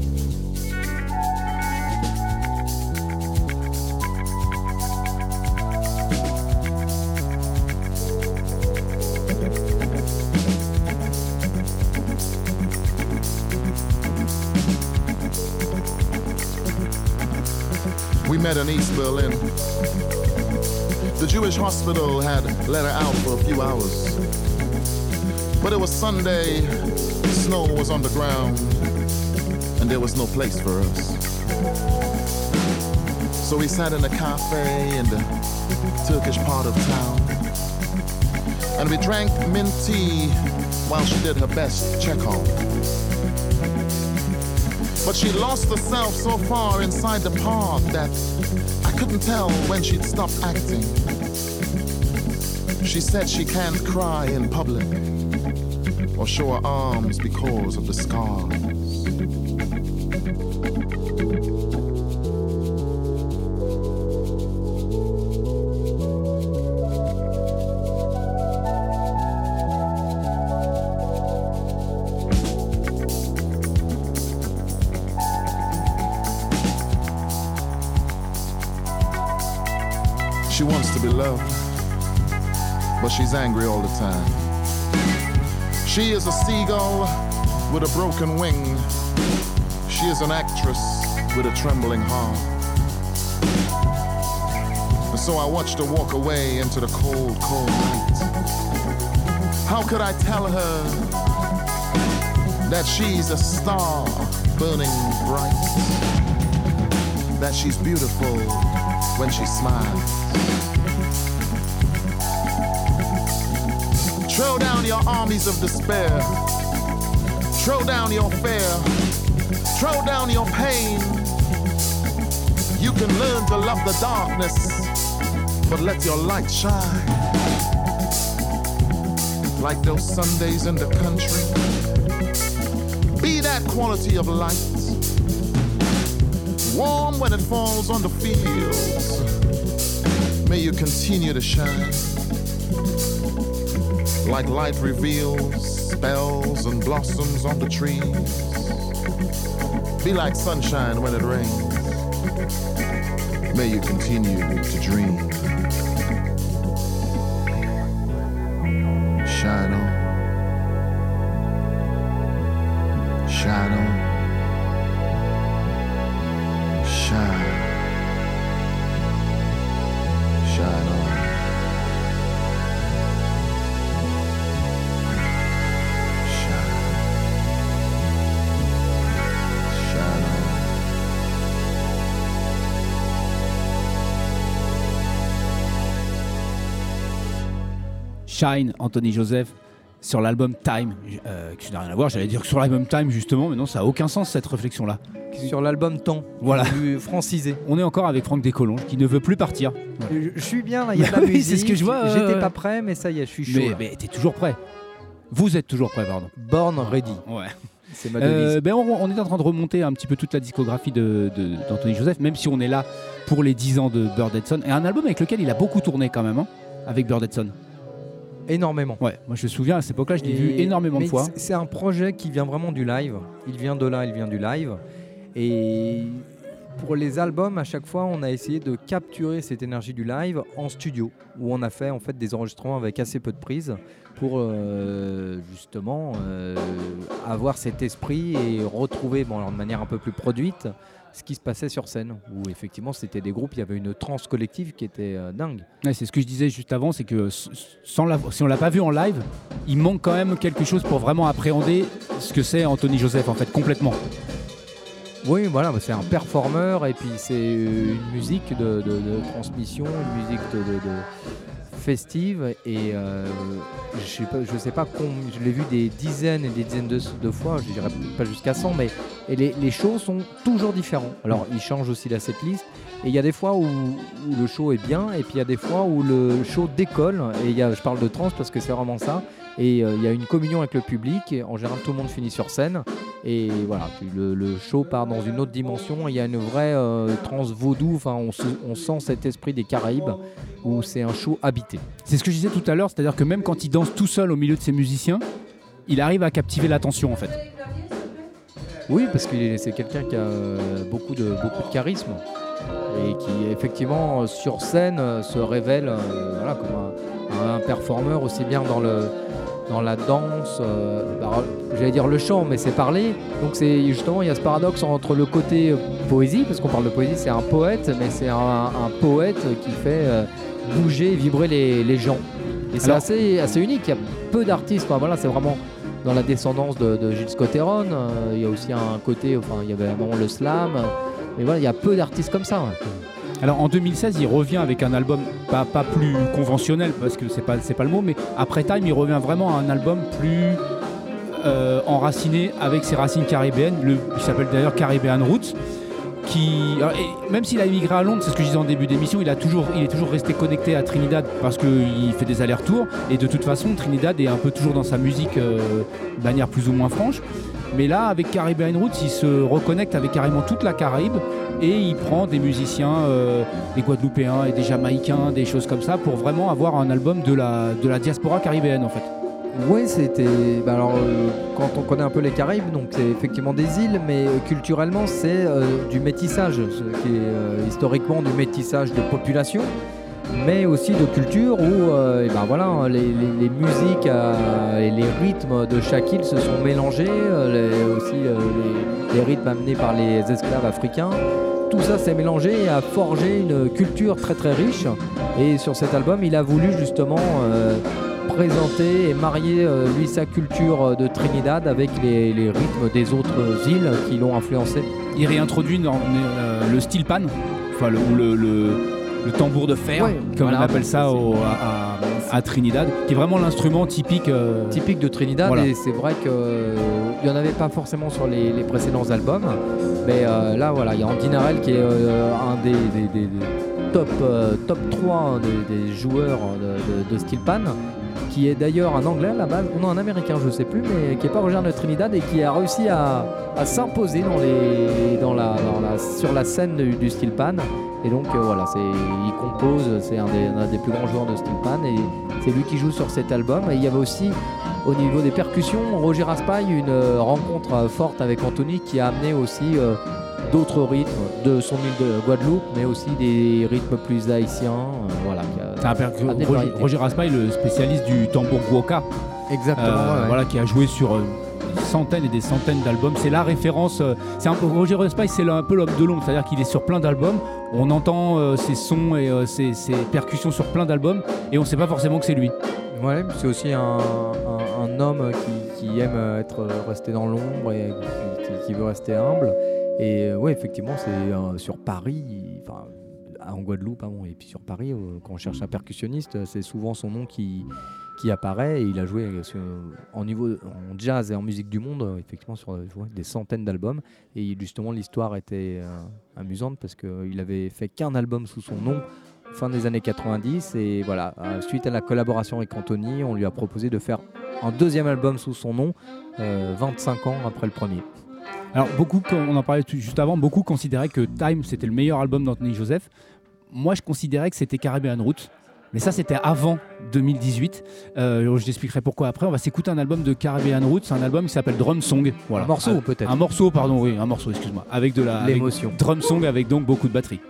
We met in East Berlin. The Jewish hospital had let her out for a few hours. But it was Sunday, snow was on the ground, and there was no place for us. So we sat in a cafe in the Turkish part of town, and we drank mint tea while she did her best Chekhov. But she lost herself so far inside the park that I couldn't tell when she'd stopped acting. She said she can't cry in public or show her arms because of the scars. She wants to be loved, but she's angry all the time. She is a seagull with a broken wing. She is an actress with a trembling heart. And so I watched her walk away into the cold, cold night. How could I tell her that she's a star burning bright? That she's beautiful when she smiles. Throw down your armies of despair. Throw down your fear. Throw down your pain. You can learn to love the darkness, but let your light shine. Like those Sundays in the country. Be that quality of light. Warm when it falls on the fields. May you continue to shine. Like light reveals spells and blossoms on the trees. Be like sunshine when it rains. May you continue to dream. Shine on. Shine on. Shine. Shine on. Shine, Anthony Joseph, sur l'album Time, euh, qui n'a rien à voir, j'allais dire que sur l'album Time justement, mais non, ça n'a aucun sens cette réflexion-là. Sur l'album Temps, voilà. Francisé. On est encore avec Franck Descolonges qui ne veut plus partir. Voilà. Je, je suis bien, là, il y a de la musique. Oui, c'est ce que je vois. Euh... J'étais pas prêt, mais ça y est, je suis chaud. Mais, mais t'es toujours prêt. Vous êtes toujours prêt, pardon. Born ready. Ouais. C'est ma devise. Euh, ben on, on est en train de remonter un petit peu toute la discographie de, de, d'Anthony Joseph, même si on est là pour les dix ans de Bird Edson. Et un album avec lequel il a beaucoup tourné quand même, hein, avec Bird Edson. Énormément. Ouais, moi je me souviens à cette époque-là, je l'ai Et- vu énormément de mais fois. c'est- C'est un projet qui vient vraiment du live. Il vient de là, il vient du live. Et pour les albums, à chaque fois, on a essayé de capturer cette énergie du live en studio, où on a fait en fait des enregistrements avec assez peu de prises pour euh, justement euh, avoir cet esprit et retrouver, bon, alors de manière un peu plus produite, ce qui se passait sur scène, où effectivement c'était des groupes, il y avait une transe collective qui était euh, dingue. Ouais, c'est ce que je disais juste avant, c'est que s- sans la, si on l'a pas vu en live, il manque quand même quelque chose pour vraiment appréhender ce que c'est Anthony Joseph en fait, complètement. Oui, voilà, c'est un performeur et puis c'est une musique de, de- de transmission, une musique de, de- de festive et euh, je sais pas, je sais pas combien, je l'ai vu des dizaines et des dizaines de, de fois, je dirais peut-être pas jusqu'à cent, mais et les, les shows sont toujours différents. Alors il change aussi la setlist et il y a des fois où, où le show est bien et puis il y a des fois où le show décolle et il y a, je parle de trance parce que c'est vraiment ça. Et euh, il y a une communion avec le public. Et en général, tout le monde finit sur scène. Et voilà, puis le, le show part dans une autre dimension. Il y a une vraie euh, trance vaudou. Enfin, on, se- on sent cet esprit des Caraïbes où c'est un show habité. C'est ce que je disais tout à l'heure, c'est-à-dire que même quand il danse tout seul au milieu de ses musiciens, il arrive à captiver l'attention en fait. Oui, parce que c'est quelqu'un qui a euh, beaucoup de, beaucoup de charisme. Et qui, effectivement, sur scène, euh, se révèle euh, voilà, comme un, un performeur aussi bien dans le. dans la danse, euh, alors, j'allais dire le chant, mais c'est parler. Donc c'est justement, il y a ce paradoxe entre le côté euh, poésie, parce qu'on parle de poésie, c'est un poète, mais c'est un, un poète qui fait euh, bouger, vibrer les, les gens. Et c'est Alors- assez, assez unique. Il y a peu d'artistes. Enfin, voilà, c'est vraiment dans la descendance de, de Gilles Scott-Heron. Euh, il y a aussi un côté, enfin, il y avait vraiment le slam. Mais voilà, il y a peu d'artistes comme ça. Ouais. Alors en deux mille seize, il revient avec un album pas, pas plus conventionnel, parce que c'est pas, c'est pas le mot, mais après Time, il revient vraiment à un album plus euh, enraciné avec ses racines caribéennes. Le, il s'appelle d'ailleurs Caribbean Roots. Qui, alors, et même s'il a émigré à Londres, c'est ce que je disais en début d'émission, il, a toujours, il est toujours resté connecté à Trinidad parce qu'il fait des allers-retours. Et de toute façon, Trinidad est un peu toujours dans sa musique euh, de manière plus ou moins franche. Mais là, avec Caribbean Roots, il se reconnecte avec carrément toute la Caraïbe et il prend des musiciens, euh, des Guadeloupéens et des Jamaïcains, des choses comme ça, pour vraiment avoir un album de la, de la diaspora caribéenne en fait. Oui, c'était. Bah alors, euh, quand on connaît un peu les Caraïbes, donc c'est effectivement des îles, mais euh, culturellement, c'est euh, du métissage, ce qui est euh, historiquement du métissage de population, mais aussi de culture où, euh, et ben voilà, les, les- les musiques euh, et les rythmes de chaque île se sont mélangés, euh, les- aussi euh, les, les rythmes amenés par les esclaves africains. Tout ça s'est mélangé et a forgé une culture très très riche. Et sur cet album, il a voulu justement euh, présenter et marier euh, lui sa culture euh, de Trinidad avec les, les rythmes des autres îles qui l'ont influencé. Il réintroduit dans, euh, le steel pan, enfin le, ou le, le, le tambour de fer, Ouais, comme voilà, on appelle ça c'est- au- à, à- à Trinidad, qui est vraiment l'instrument typique. euh, Typique de Trinidad, Voilà. et c'est vrai qu'il n'y en avait pas forcément sur les, les précédents albums, mais euh, là voilà, il y a Andy Narell qui est euh, un des, des- des- des top, euh, top trois hein, des, des joueurs de, de, de steel pan, qui est d'ailleurs un anglais à la base, ou non un américain je sais plus, mais qui n'est pas originaire de Trinidad et qui a réussi à, à s'imposer dans les, dans la, dans la, sur la scène du, du steel pan. Et donc euh, voilà, c'est, il compose, c'est un des, un des plus grands joueurs de steel pan et c'est lui qui joue sur cet album. Et il y avait aussi au niveau des percussions, Roger Raspail, une euh, rencontre euh, forte avec Anthony qui a amené aussi euh, d'autres rythmes de son île de Guadeloupe, mais aussi des rythmes plus haïtiens. euh, voilà, qui a- c'est un percu- amené de Roger, variété. Roger Raspail, le spécialiste du tambour guoka, Exactement. euh, ouais, ouais. voilà, qui a joué sur euh, des centaines et des centaines d'albums. C'est la référence. euh, c'est un peu, Roger Raspail, c'est le- un peu l'homme de l'ombre, c'est-à-dire qu'il est sur plein d'albums. On entend euh, ses sons et euh, ses, ses percussions sur plein d'albums, et on ne sait pas forcément que c'est lui. Ouais, c'est aussi un, un- un homme qui, qui aime être resté dans l'ombre et qui, qui- qui veut rester humble. Et euh, ouais, effectivement, c'est euh, sur Paris, enfin en Guadeloupe, pardon, et puis sur Paris, euh, quand on cherche un percussionniste, c'est souvent son nom qui, qui apparaît. Et il a joué sur- en niveau en jazz et en musique du monde, euh, effectivement, sur euh, ouais, des centaines d'albums. Et justement, l'histoire était euh, amusante parce qu'il avait fait qu'un album sous son nom fin des années quatre-vingt-dix. Et voilà, euh, suite à la collaboration avec Anthony, on lui a proposé de faire un deuxième album sous son nom, euh, vingt-cinq ans après le premier. Alors beaucoup, on en parlait juste avant, beaucoup considéraient que Time c'était le meilleur album d'Anthony Joseph. Moi je considérais que c'était Caribbean Roots. Mais ça, c'était avant deux mille dix-huit. Euh, je t'expliquerai pourquoi après. On va s'écouter un album de Caribbean Roots, un album qui s'appelle Drum Song. Voilà. Un morceau euh, peut-être. Un morceau, pardon, oui, un morceau, excuse-moi. Avec de la l'émotion. Avec Drum Song avec donc beaucoup de batterie.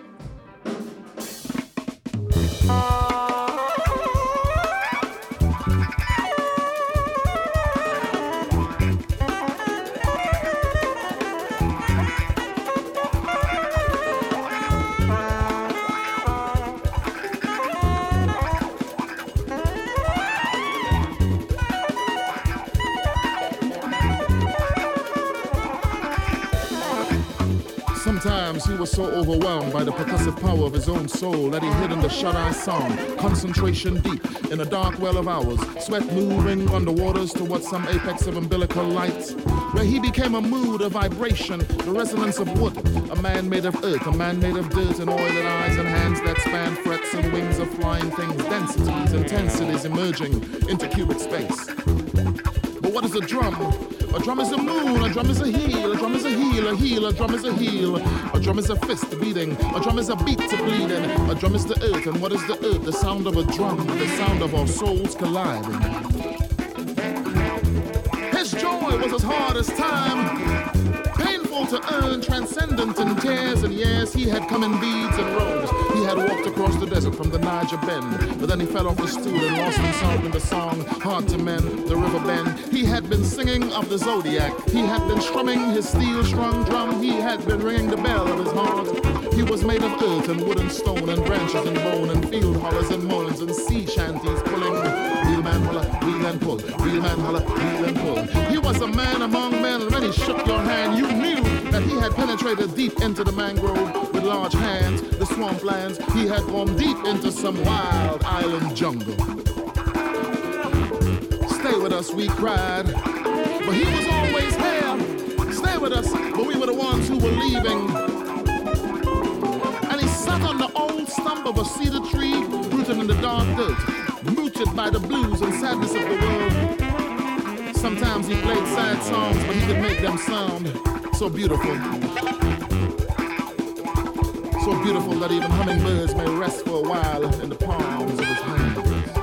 Sometimes he was so overwhelmed by the percussive power of his own soul that he hid in the shut-eye song, concentration deep in a dark well of hours, sweat moving under waters towards some apex of umbilical light, where he became a mood, a vibration, the resonance of wood, a man made of earth, a man made of dirt, and oiled eyes and hands that span frets and wings of flying things, densities, intensities emerging into cubic space. But what is a drum? A drum is a moon, a drum is a heel, a drum is a heel, a heel, a drum is a heel. A drum is a fist beating, a drum is a beat to bleeding. A drum is the earth, and what is the earth? The sound of a drum, the sound of our souls colliding. His joy was as hard as time, painful to earn, transcendent in tears and years. He had come in beads and robes. He had walked across the desert from the Niger Bend, but then he fell off the stool and lost himself in the song, hard to mend, the river bend. He had been singing of the zodiac. He had been strumming his steel-strung drum. He had been ringing the bell of his heart. He was made of earth and wood and stone and branches and bone and field hollers and moans and sea shanties pulling. Real man holler, reel and pull. Real man holler, reel and pull. He was a man among men, and when he shook your hand, you knew that he had penetrated deep into the mangrove with large hands, the swamplands. He had gone deep into some wild island jungle. Stay with us, we cried, but he was always here. Stay with us, but we were the ones who were leaving. And he sat on the old stump of a cedar tree, rooted in the dark dirt, mooted by the blues and sadness of the world. Sometimes he played sad songs, but he could make them sound so beautiful. So beautiful that even hummingbirds may rest for a while in the palms of his hands.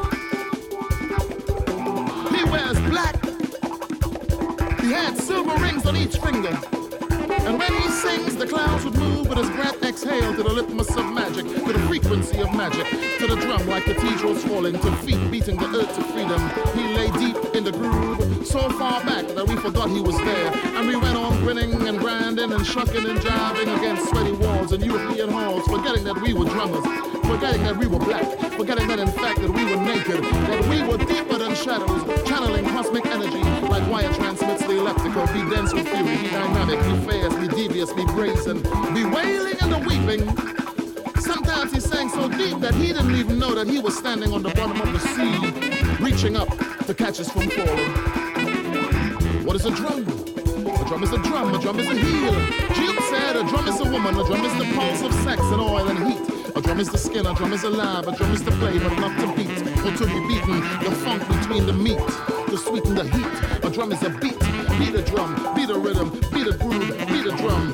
He wears black. He had silver rings on each finger. And when he sings, the clouds would move, but his breath exhale to the litmus of magic, to the frequency of magic, to the drum like cathedrals falling, to feet beating the earth to freedom. He lay deep in the groove, so far back that we forgot he was there. And we went on grinning and grinding and shucking and jiving against sweaty walls and European halls, forgetting that we were drummers, forgetting that we were black, forgetting that in fact that we were naked, that we were deeper than shadows, channeling cosmic energy like wire transmits the elliptical. Be dense with fury, be dynamic, be fast, be devious, be brazen, be wailing and the weeping. Sometimes he sang so deep that he didn't even know that he was standing on the bottom of the sea, reaching up to catch us from falling. What is a drum? A drum is a drum, a drum is a heel. Jude said a drum is a woman, a drum is the pulse of sex and oil and heat. A drum is the skin, a drum is alive, a drum is to play but not to beat, or to be beaten, the funk between the meat, to sweeten the heat. A drum is a beat, beat a drum, beat a rhythm, beat a groove, beat a drum.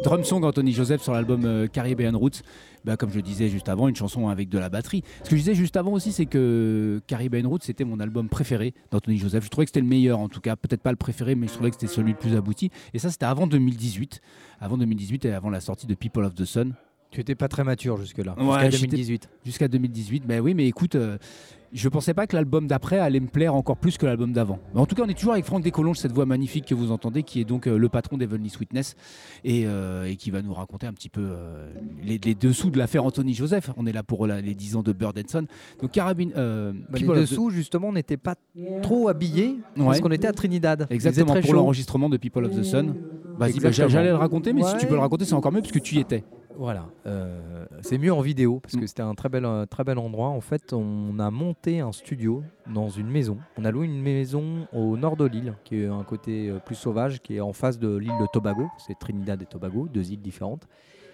Drum Song Anthony Joseph sur l'album euh, Caribbean Roots. Bah, comme je disais juste avant, une chanson avec de la batterie. Ce que je disais juste avant aussi, c'est que Caribbean Roots, c'était mon album préféré d'Anthony Joseph. Je trouvais que c'était le meilleur, en tout cas, peut-être pas le préféré, mais je trouvais que c'était celui le plus abouti. Et ça, c'était avant deux mille dix-huit, avant deux mille dix-huit et avant la sortie de People of the Sun. Tu n'étais pas très mature jusque-là, Ouais, jusqu'à deux mille dix-huit. Jusqu'à deux mille dix-huit, ben oui, mais écoute, euh, je pensais pas que l'album d'après allait me plaire encore plus que l'album d'avant. Mais en tout cas, on est toujours avec Franck Descolonges, cette voix magnifique que vous entendez, qui est donc euh, le patron d'Heavenly Sweetness et, euh, et qui va nous raconter un petit peu euh, les, les dessous de l'affaire Anthony Joseph. On est là pour la, les dix ans de Bird and Son. Donc Carabine, euh, bah, les dessous, the... justement, on n'était pas trop habillés ouais. parce qu'on était à Trinidad. Exactement, pour chaud. L'enregistrement de People of the Sun. Vas-y, bah, j'allais le raconter, mais ouais. si tu peux le raconter, c'est encore mieux parce que tu y étais. Voilà, euh, c'est mieux en vidéo parce que c'était un très bel, un très bel endroit. En fait, on a monté un studio dans une maison. On a loué une maison au nord de l'île, qui est un côté plus sauvage, qui est en face de l'île de Tobago. C'est Trinidad et Tobago, deux îles différentes.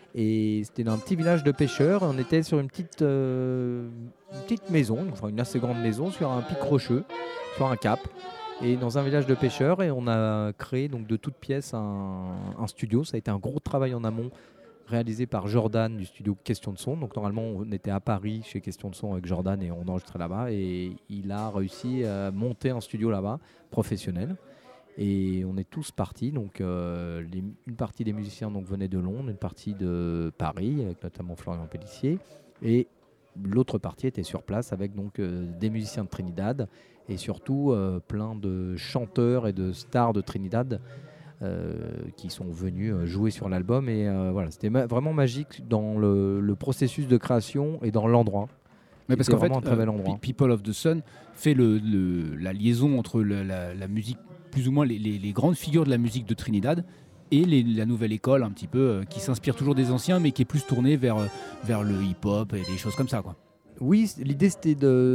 Et c'était dans un petit village de pêcheurs. On était sur une petite, euh, une petite maison, enfin une assez grande maison, sur un pic rocheux, sur un cap. Et dans un village de pêcheurs. Et on a créé donc de toutes pièces un, un studio. Ça a été un gros travail en amont, réalisé par Jordan du studio Question de Son. Donc normalement on était à Paris chez Question de Son avec Jordan et on enregistrait là-bas et il a réussi à monter un studio là-bas professionnel et on est tous partis. Donc euh, les, une partie des musiciens donc venaient de Londres, une partie de Paris avec notamment Florian Pellissier et l'autre partie était sur place avec donc euh, des musiciens de Trinidad et surtout euh, plein de chanteurs et de stars de Trinidad. Euh, qui sont venus euh, jouer sur l'album et euh, voilà, c'était ma- vraiment magique dans le, le processus de création et dans l'endroit. Mais parce qu'en fait, un très bel endroit. Euh, People of the Sun fait le, le, la liaison entre le, la, la musique, plus ou moins les, les, les grandes figures de la musique de Trinidad et les, la nouvelle école un petit peu euh, qui s'inspire toujours des anciens mais qui est plus tournée vers, vers le hip-hop et des choses comme ça, quoi. Oui, l'idée c'était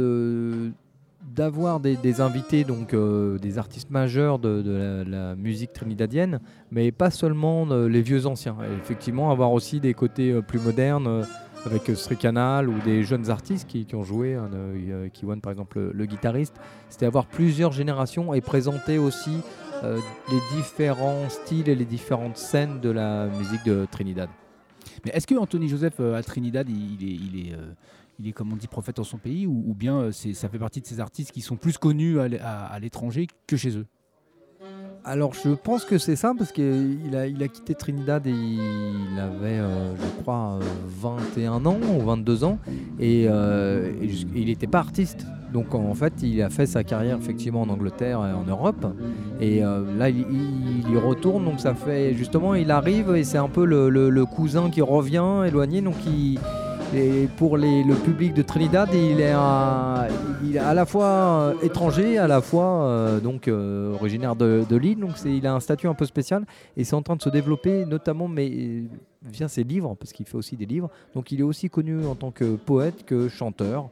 de d'avoir des, des invités, donc euh, des artistes majeurs de, de la, la musique trinidadienne, mais pas seulement euh, les vieux anciens. Et effectivement, avoir aussi des côtés euh, plus modernes, euh, avec euh, Stray Canal ou des jeunes artistes qui, qui ont joué, hein, euh, Kiwan par exemple, le, le guitariste. C'était avoir plusieurs générations et présenter aussi euh, les différents styles et les différentes scènes de la musique de Trinidad. Mais est-ce que Anthony Joseph euh, à Trinidad, il, il est... Il est euh... il est, comme on dit, prophète en son pays, ou, ou bien c'est, ça fait partie de ces artistes qui sont plus connus à, à, à l'étranger que chez eux? Alors je pense que c'est ça, parce qu'il a, il a quitté Trinidad et il avait, euh, je crois, vingt et un ans ou vingt-deux ans, et, euh, et, et il n'était pas artiste. Donc en fait, il a fait sa carrière effectivement en Angleterre et en Europe, et euh, là il, il, il y retourne, donc ça fait justement, il arrive et c'est un peu le, le, le cousin qui revient éloigné, donc il... Et pour les, le public de Trinidad, il est, un, il est à la fois étranger, à la fois euh, donc, euh, originaire de, de l'île. Donc c'est, il a un statut un peu spécial et c'est en train de se développer, notamment mais, via ses livres, parce qu'il fait aussi des livres. Donc il est aussi connu en tant que poète que chanteur.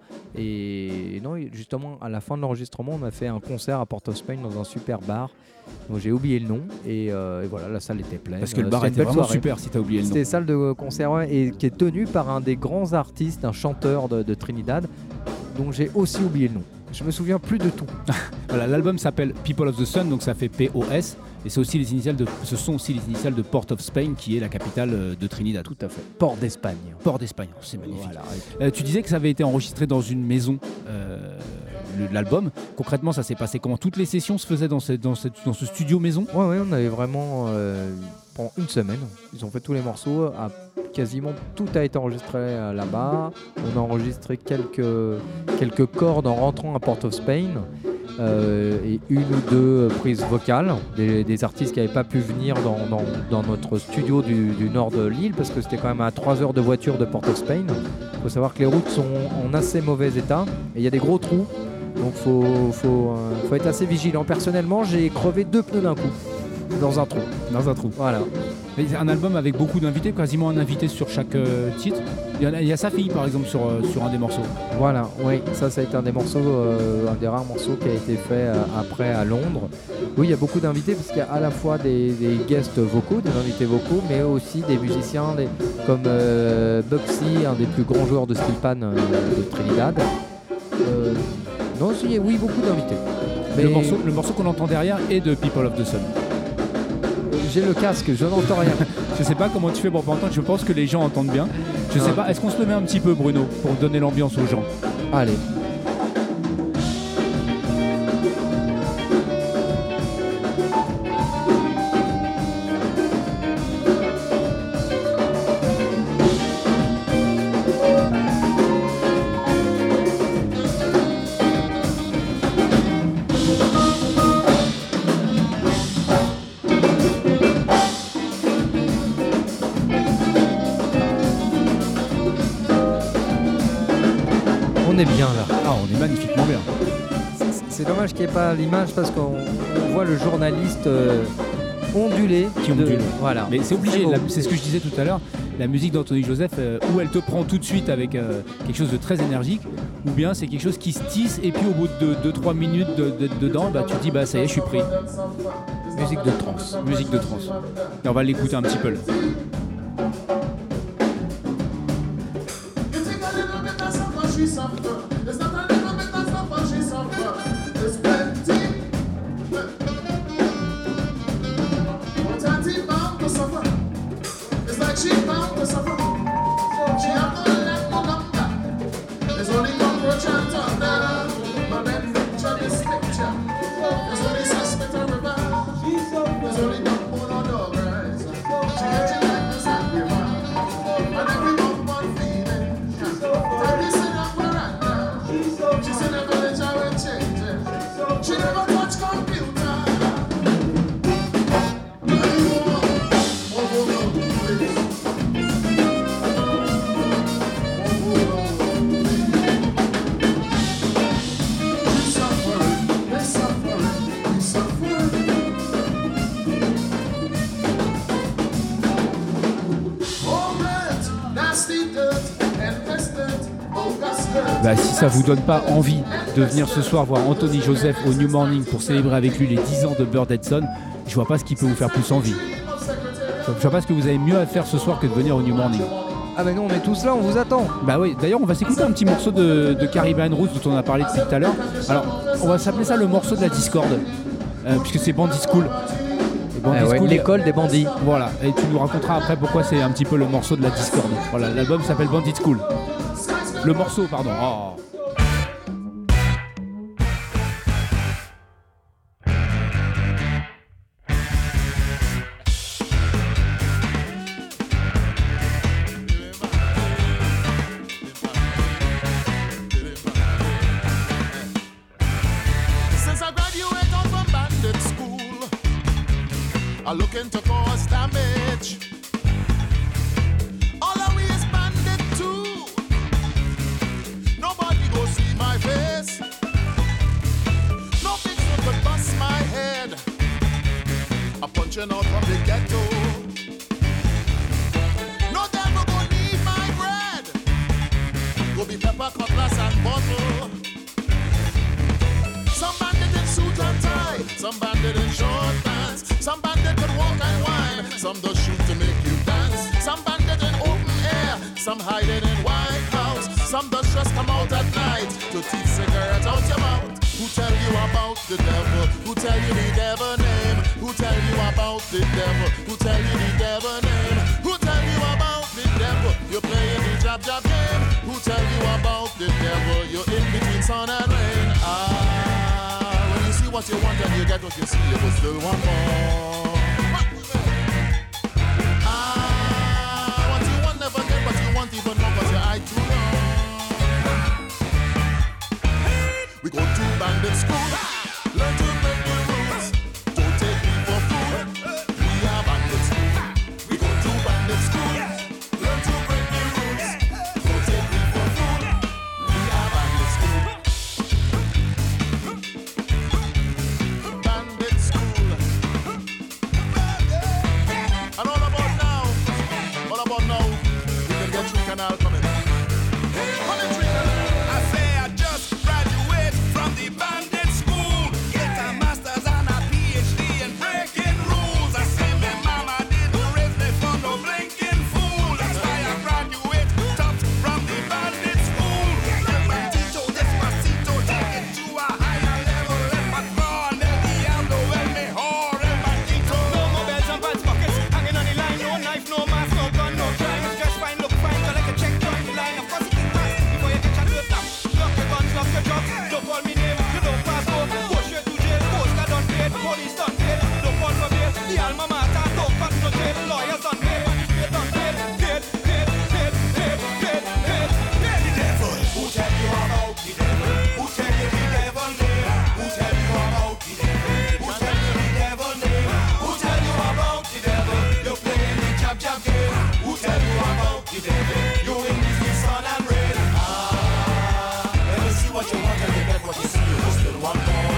Et non, justement, à la fin de l'enregistrement, on a fait un concert à Port of Spain dans un super bar. Donc j'ai oublié le nom et, euh, et voilà, la salle était pleine. Parce que le bar était vraiment soirée. Super si tu as oublié le nom. C'était salle de concert ouais, et qui est tenue par un des grands artistes, un chanteur de, de Trinidad, dont j'ai aussi oublié le nom. Je me souviens plus de tout. Voilà, l'album s'appelle People of the Sun, donc ça fait P O S, et c'est aussi les initiales de, ce sont aussi les initiales de Port of Spain, qui est la capitale de Trinidad. Tout à fait. Port d'Espagne. Port d'Espagne, c'est magnifique. Voilà. Euh, tu disais que ça avait été enregistré dans une maison. Euh, l'album, concrètement ça s'est passé comment? Toutes les sessions se faisaient dans ce, dans ce, dans ce studio maison? Ouais, ouais, on avait vraiment euh, pendant une semaine, ils ont fait tous les morceaux, à, quasiment tout a été enregistré euh, là-bas. On a enregistré quelques, quelques cordes en rentrant à Port of Spain euh, et une ou deux prises vocales des, des artistes qui n'avaient pas pu venir dans, dans, dans notre studio du, du nord de l'île parce que c'était quand même à trois heures de voiture de Port of Spain. Il faut savoir que les routes sont en assez mauvais état et il y a des gros trous. Donc il faut, faut, euh, faut être assez vigilant. Personnellement, j'ai crevé deux pneus d'un coup. Dans un trou. Dans un trou. Voilà. Mais c'est un album avec beaucoup d'invités, quasiment un invité sur chaque euh, titre. Il y, a, il y a sa fille par exemple sur, euh, sur un des morceaux. Voilà, oui, ça ça a été un des morceaux, euh, un des rares morceaux qui a été fait euh, après à Londres. Oui, il y a beaucoup d'invités parce qu'il y a à la fois des, des guests vocaux, des invités vocaux, mais aussi des musiciens des, comme euh, Bugsy, un des plus grands joueurs de steel pan euh, de Trinidad. Euh, non, si, oui, beaucoup d'invités. Mais le morceau, le morceau qu'on entend derrière est de People of the Sun. j'ai le casque, je n'entends rien. Je sais pas comment tu fais pour pas entendre, je pense que les gens entendent bien. Je sais pas, est-ce qu'on se le met un petit peu, Bruno, pour donner l'ambiance aux gens? Allez. On est bien là. Ah, on est magnifiquement bien. C'est- C'est dommage qu'il n'y ait pas l'image parce qu'on on voit le journaliste euh, onduler. Qui de- ondule. Voilà. Mais c'est obligé, Très beau. la- c'est ce que je disais tout à l'heure, la musique d'Anthony Joseph, euh, ou elle te prend tout de suite avec euh, quelque chose de très énergique, ou bien c'est quelque chose qui se tisse et puis au bout de deux trois minutes de- de- dedans, bah, tu te dis bah ça y est, je suis pris. Musique de trance. Musique de trance. Et on va l'écouter un petit peu là. You think a little bit of suffer, she suffer. It's not a little bit of suffer, she suffer. It's plenty. But auntie bound to suffer. It's like she bound to suffer. She have no let no longer. There's only cockroach and thunder. But then picture this picture. There's only suspect and river. There's only backbone or dog rise. She get you like this angry man. And every month one feeling. Tell me sit down veranda. She said the village I will change it. She never touch computer. Oh, oh, oh, please. Oh, oh, oh, please. She suffering, they suffering, we suffering. Oh, red, nasty dirt, endless dirt, bogus dirt. Bah, si ça vous donne pas envie de venir ce soir voir Anthony Joseph au New Morning pour célébrer avec lui les dix ans de Bird Edson, je vois pas ce qui peut vous faire plus envie. Je vois pas ce que vous avez mieux à faire ce soir que de venir au New Morning. Ah mais nous on est tous là, on vous attend. Bah oui, d'ailleurs on va s'écouter un petit morceau de, de Caribbean Roots dont on a parlé depuis tout à l'heure. Alors on va s'appeler ça le morceau de la discorde, euh, puisque c'est Bandit School. Et Bandit Eh ouais, School, l'école des bandits. Voilà, et tu nous raconteras après pourquoi c'est un petit peu le morceau de la discorde. Voilà, l'album s'appelle Bandit School. Le morceau, pardon. Oh. Since I graduated from bandit school, I'm looking to cause damage. All of we is bandit too. Nobody go see my face. No picture could bust my head. I'm punching out from the ghetto. No devil go need my bread. Go be pepper, cutlass and bottle. Some bandit in suit and tie, some bandit in short pants, some bandit could walk and whine, some just shoot to make you dance. Some bandit in open air, some hiding in White House, some just just come out at night to teach cigarettes out your mouth. Who tell you about the devil? Who tell you the devil name? Who tell you about the devil? Who tell you the devil name? Who tell you about the devil? You're playing the jab jab game. Who tell you about the devil? You're in between sun and rain. Ah, when you see what you want and you get what you see, you will still want more. Ah, what you want never get, but you want even more 'cause your eye too long. We go to bandit school, learn to break the rules. Don't take me for fool. We are bandit school. We go to bandit school, learn to break the rules. Don't take me for fool. We are bandit school. Bandit school. And all about now, all about now, we can get through canal coming. Coming through canal. I say I just graduated from the bandit school. police done paid. Don't call for bail. The alma mater don't pass no jail. Lawyers done paid. Magistrate done paid. Paid, paid, paid, paid, paid, paid, paid. The devil. Who tell you about the devil? Who tell you the devil name? Who tell you about the devil? Who tell you the devil name? Who tell you about the devil? You're playing the jab jab game. Who tell you about the devil? You in the sun and rain. Ah, let me see what you want and you get what you see. You still want more.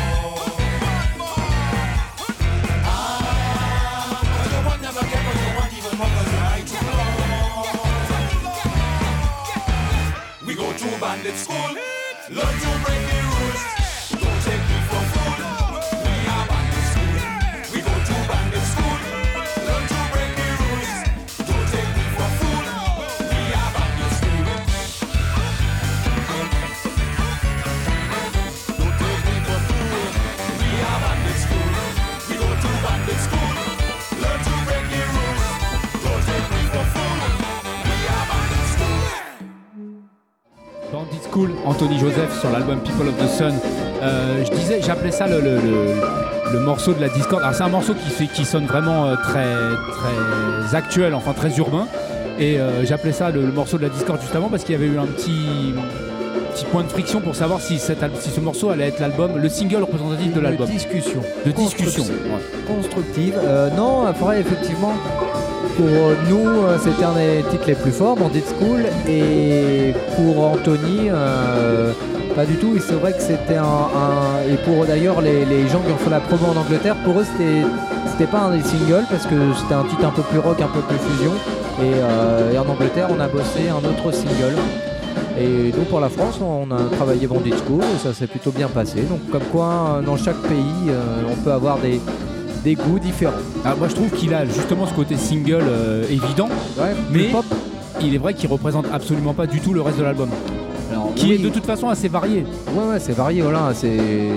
Ah, what you want never get what you want even more 'cause you're right too long. We go to bandit school, learn to break the rules. Don't take me for fool. We are bandit school. We go to bandit school, learn to break the rules. Don't take me for fool. We are bandit school. Don't take me for fool. We are bandit school. We go to bandit school, learn to break the rules. Don't take me for fool. We are bandit school. Bandit School, Anthony Joseph sur l'album People of the Sun. Euh, je disais, j'appelais ça le, le, le, le morceau de la discorde. Alors c'est un morceau qui, fait, qui sonne vraiment euh, très, très actuel, enfin très urbain. Et euh, j'appelais ça le, le morceau de la discorde juste avant parce qu'il y avait eu un petit, petit point de friction pour savoir si, cet, al- si ce morceau allait être l'album, le single représentatif de l'album. De discussion. De discussion. Construction. Ouais. Constructive. Euh, non, après, effectivement, pour nous, euh, c'était un des titres les plus forts, Bandit School. Et pour Anthony, euh, pas du tout. Et c'est vrai que c'était un, un- Et pour d'ailleurs les, les gens qui ont fait la promo en Angleterre, pour eux, c'était, c'était pas un des singles parce que c'était un titre un peu plus rock, un peu plus fusion. Et, euh, et en Angleterre, on a bossé un autre single. Et nous, pour la France, on a travaillé Bandit School et ça s'est plutôt bien passé. Donc, comme quoi, dans chaque pays, euh, on peut avoir des, des goûts différents. Alors, moi je trouve qu'il a justement ce côté single euh, évident, Ouais, mais plus pop. il est vrai qu'il représente absolument pas du tout le reste de l'album. Alors, Qui oui, est de toute façon assez varié. Ouais, ouais, c'est varié, voilà, c'est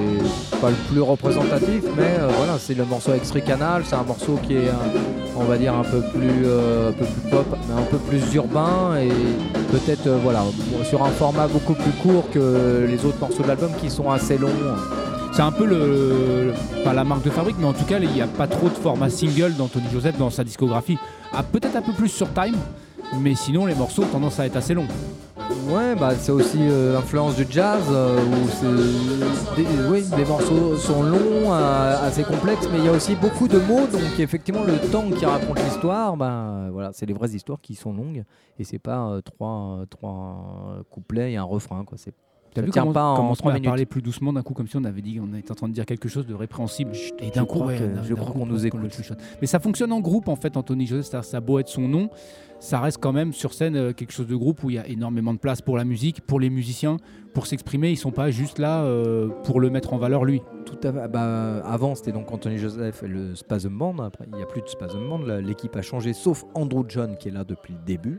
pas le plus représentatif, mais euh, voilà, c'est le morceau Extrait Canal, c'est un morceau qui est, euh, on va dire, un peu plus, euh, un peu plus pop, mais un peu plus urbain et peut-être, euh, voilà, sur un format beaucoup plus court que les autres morceaux de l'album qui sont assez longs. C'est un peu le, pas la marque de fabrique, mais en tout cas, il n'y a pas trop de format single d'Anthony Joseph dans sa discographie. Ah, peut-être un peu plus sur Time, mais sinon les morceaux ont tendance à être assez longs. Ouais, bah c'est aussi euh, influence du jazz euh, où c'est des, oui, des morceaux sont longs, euh, assez complexes, mais il y a aussi beaucoup de mots, donc effectivement le temps qui raconte l'histoire, bah voilà, c'est les vraies histoires qui sont longues et c'est pas euh, trois, trois couplets et un refrain quoi. C'est T'as ça vu tient comment, pas en comment on trois a minutes. parlé plus doucement d'un coup, comme si on avait dit qu'on était en train de dire quelque chose de répréhensible. Et d'un je coup, crois ouais, que- d'un- je d'un crois coup, qu'on nous le écoute. chuchote. Mais ça fonctionne en groupe en fait, Anthony Joseph. C'est-à-dire, ça a beau être son nom, ça reste quand même sur scène euh, quelque chose de groupe où il y a énormément de place pour la musique, pour les musiciens, pour s'exprimer. Ils sont pas juste là euh, pour le mettre en valeur lui. Tout à fait. Bah, avant, c'était donc Anthony Joseph et le Spasm Band. Après, il n'y a plus de Spasm Band. La- L'équipe a changé, sauf Andrew John qui est là depuis le début.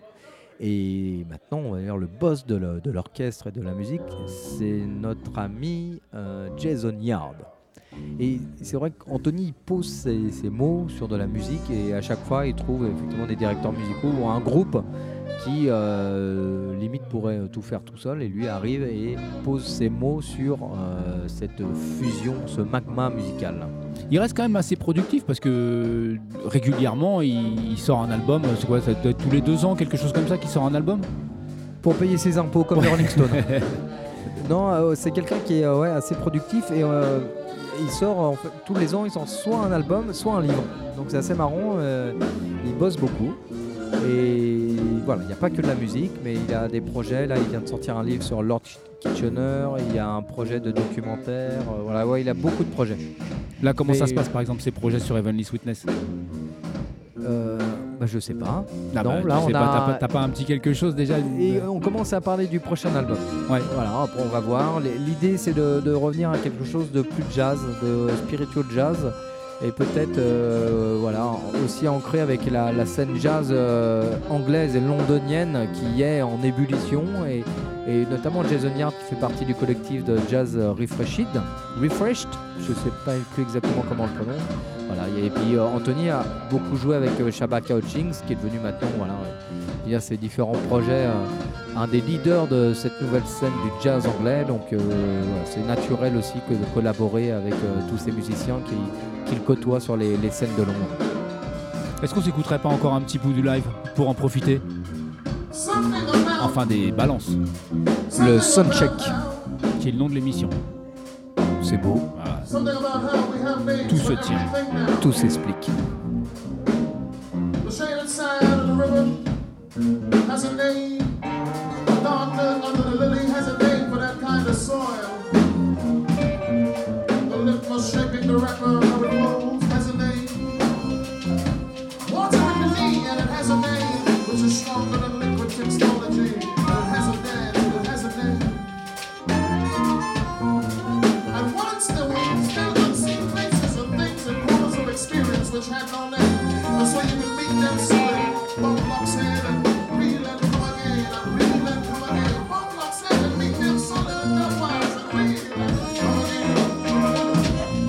Et maintenant, on va dire le boss de, le- de l'orchestre et de la musique, c'est notre ami euh, Jason Yard. Et c'est vrai qu'Anthony il pose ses, ses mots sur de la musique et à chaque fois, il trouve effectivement des directeurs musicaux ou un groupe qui euh, limite pourrait tout faire tout seul et lui arrive et pose ses mots sur euh, cette fusion, ce magma musical. Il reste quand même assez productif parce que régulièrement il, il sort un album. C'est quoi, ça doit être tous les deux ans, quelque chose comme ça, qui sort un album. Pour payer ses impôts comme les Rolling Stones. Non, euh, c'est quelqu'un qui est euh, ouais, assez productif et euh, il sort en fait, tous les ans, il sort soit un album, soit un livre. Donc c'est assez marrant, euh, il bosse beaucoup. Et voilà, il n'y a pas que de la musique, mais il a des projets. Là, il vient de sortir un livre sur Lord Kitchener, il y a un projet de documentaire. euh, voilà, ouais, il a beaucoup de projets. Là, comment Mais- ça se passe par exemple ces projets sur Heavenly Sweetness? Euh, bah, je sais pas. Ah Non, bah, là, tu sais on pas, a- t'as pas, t'as pas un petit quelque chose déjà? Et on commence à parler du prochain album. Ouais. Voilà, après on va voir. L'idée c'est de, de revenir à quelque chose de plus jazz, de spiritual jazz. Et peut-être euh, voilà, aussi ancré avec la, la scène jazz euh, anglaise et londonienne qui est en ébullition. Et, et notamment Jason Yard qui fait partie du collectif de jazz euh, Refreshed. Refreshed, je sais pas plus exactement comment on le prononce. Voilà, et puis euh, Anthony a beaucoup joué avec euh, Shabaka Hutchings qui est devenu maintenant, voilà, euh, il y a ses différents projets euh, un des leaders de cette nouvelle scène du jazz anglais. Donc euh, voilà, c'est naturel aussi que de collaborer avec euh, tous ces musiciens qui, qu'il côtoie sur les, les scènes de Londres. Est-ce qu'on s'écouterait pas encore un petit bout du live pour en profiter? Enfin des balances, Le Soundcheck. qui est le nom de l'émission. C'est beau, Voilà. Tout se tient. tout s'explique. The shaded side of the river has a name. The darkness under the lily has a name for that kind of soil. The litmus shaping the wrapper of it flows has a name. Water in the knee and it has a name, which is stronger than liquid technology. And it has a name, it has a name. And once there were still unseen places and things and corners of experience which had no name. And so you can meet them solid, bump blocks head and reel and come again, and reel and come again. Bump blocks head and meet them solid and them wise and reel and come again.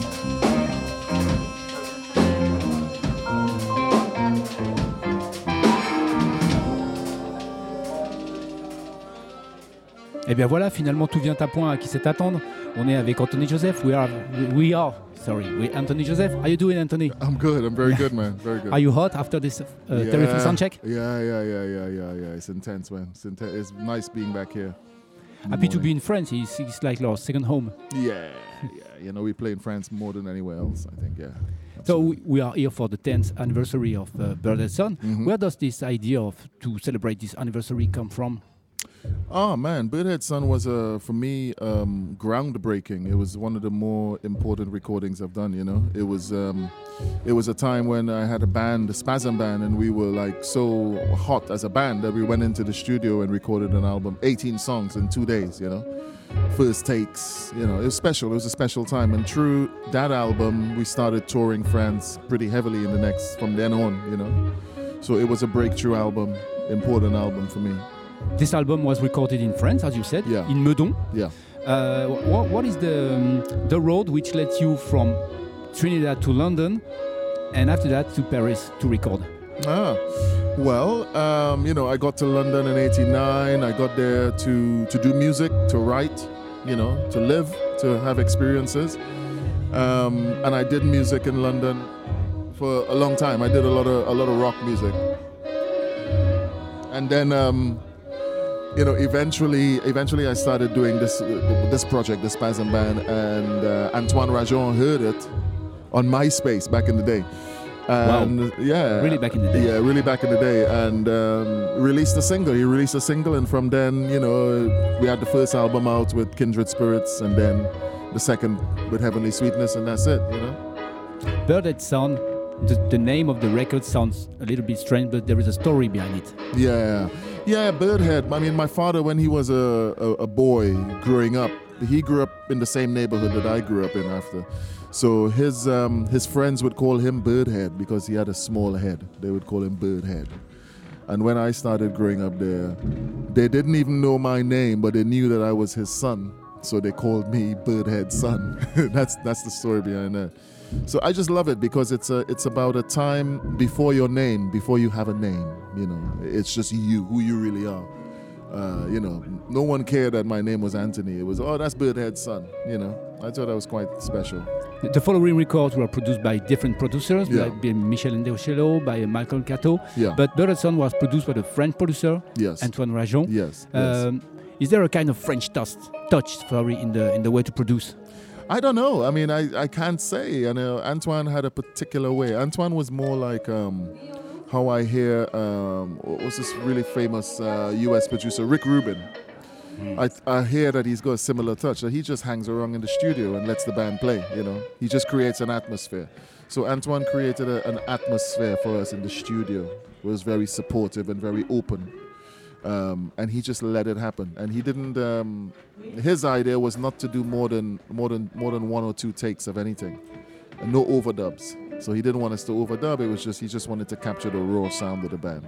Et bien voilà, finalement tout vient à point à qui sait attendre. On est avec Anthony Joseph. We are, we are, sorry, we Anthony Joseph. How you doing, Anthony? I'm good. I'm very good, man. Very good. Are you hot after this uh, Yeah. terrific sound check? Yeah, yeah, yeah, yeah, yeah, yeah. It's intense, man. It's intense. It's nice being back here. in the Happy to be morning. in France. It's, it's like our second home. Yeah, yeah. You know, we play in France more than anywhere else. I think. Yeah. So we, we are here for the tenth anniversary of uh, Birdhead Sun. Mhm. Where does this idea of to celebrate this anniversary come from? Oh man, Birdhead Sun was uh, for me um, groundbreaking. It was one of the more important recordings I've done. You know, it was um, it was a time when I had a band, the Spasm Band, and we were like so hot as a band that we went into the studio and recorded an album, eighteen songs in two days. You know, first takes. You know, it was special. It was a special time, and through that album, we started touring France pretty heavily in the next from then on. You know, so it was a breakthrough album, important album for me. This album was recorded in France, as you said, Yeah. in Meudon. Yeah. Uh, what, what is the um, the road which led you from Trinidad to London, and after that to Paris to record? Ah, well, um, you know, I got to London in eighty-nine. I got there to, to do music, to write, you know, to live, to have experiences. Um, and I did music in London for a long time. I did a lot of a lot of rock music. And then, um, you know, eventually, eventually, I started doing this uh, this project, the Spasm Band, and uh, Antoine Rajon heard it on MySpace back in the day. And yeah, Really back in the day. Yeah, really back in the day, and um, released a single. He released a single, and from then, you know, we had the first album out with Kindred Spirits, and then the second with Heavenly Sweetness, and that's it. You know. Birdhead Sun. The, the name of the record sounds a little bit strange, but there is a story behind it. Yeah, yeah, Birdhead. I mean, my father, when he was a, a, a boy growing up, he grew up in the same neighborhood that I grew up in after. So his um, his friends would call him Birdhead because he had a small head. They would call him Birdhead. And when I started growing up there, they didn't even know my name, but they knew that I was his son. So they called me Birdhead Son. that's that's the story behind that. So I just love it because it's a it's about a time before your name, before you have a name. You know, it's just you, who you really are. Uh, you know, no one cared that my name was Anthony. It was, oh, that's Birdhead's son. You know, I thought that was quite special. The, the following records were produced by different producers, Yeah. like by Michel Ndeocello, by Malcolm Cato. Yeah. But Birdhead Sun was produced by the French producer, Yes. Antoine Rajon. Yes. yes. Um, is there a kind of French touch, touch sorry, in the in the way to produce? I don't know. I mean, I, I can't say. You know, Antoine had a particular way. Antoine was more like um, how I hear, um, what's this really famous uh, U S producer, Rick Rubin. Mm. I, I hear that he's got a similar touch. That he just hangs around in the studio and lets the band play, you know. He just creates an atmosphere. So Antoine created a, an atmosphere for us in the studio. It was very supportive and very open. Um, and he just let it happen. And he didn't. Um, his idea was not to do more than more than more than one or two takes of anything, and no overdubs. So he didn't want us to overdub. It was just he just wanted to capture the raw sound of the band.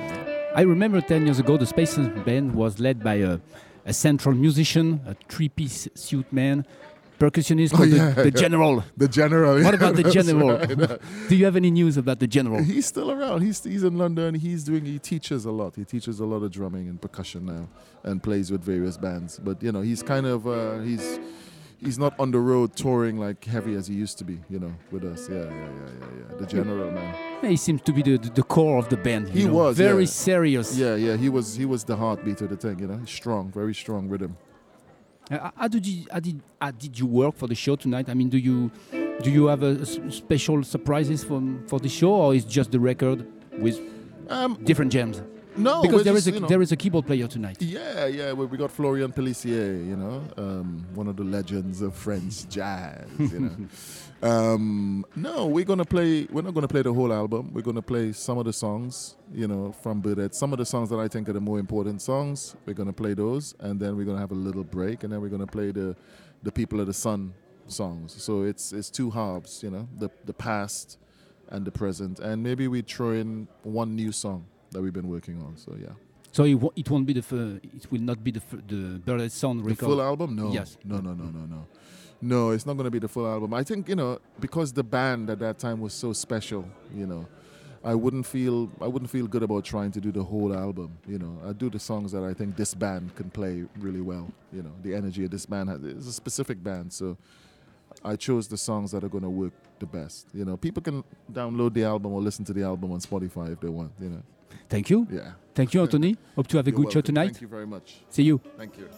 I remember ten years ago, the Space Band was led by a, a central musician, a three-piece suit man, percussionist called Oh, yeah, the, the yeah. General. The General. What about the That's General? right. Do you have any news about the General? He's still around. He's he's in London. He's doing. He teaches a lot. He teaches a lot of drumming and percussion now, and plays with various bands. But you know, he's kind of uh, he's he's not on the road touring like heavy as he used to be. You know, with us. Yeah, yeah, yeah, yeah, yeah. The General, man. He seems to be the, the, the core of the band. you He know, was, very yeah. serious. Yeah, yeah. He was he was the heartbeat of the thing. You know, he's strong, very strong rhythm. Uh, how did you how did how did you work for the show tonight? I mean, do you do you have a, s- special surprises for for the show, or is just the record with Um, different jams? no, Because we're there is just, a you know- there is a keyboard player tonight. Yeah, yeah. We, we got Florian Pellissier, you know, um, one of the legends of French jazz. You know. um, no, we're gonna play. We're not gonna play the whole album. We're gonna play some of the songs, you know, from Birdhead. Some of the songs that I think are the more important songs. We're gonna play those, and then we're gonna have a little break, and then we're gonna play the, the People of the Sun songs. So it's it's two halves, you know, the the past and the present, and maybe we throw in one new song that we've been working on. So yeah. So it, wo- it won't be the f- it will not be the f- the Birdhead Sound The record. full album? No. Yes. No, no, no, no, no. No, it's not going to be the full album. I think, you know, because the band at that time was so special, you know, I wouldn't feel I wouldn't feel good about trying to do the whole album, you know. I do the songs that I think this band can play really well, you know. The energy of this band has, it's a specific band, so I chose the songs that are going to work the best. You know, people can download the album or listen to the album on Spotify if they want, you know. Thank you. Yeah. Thank you, Anthony. Hope to have a You're good show welcome. tonight. Thank you very much. See you. Thank you.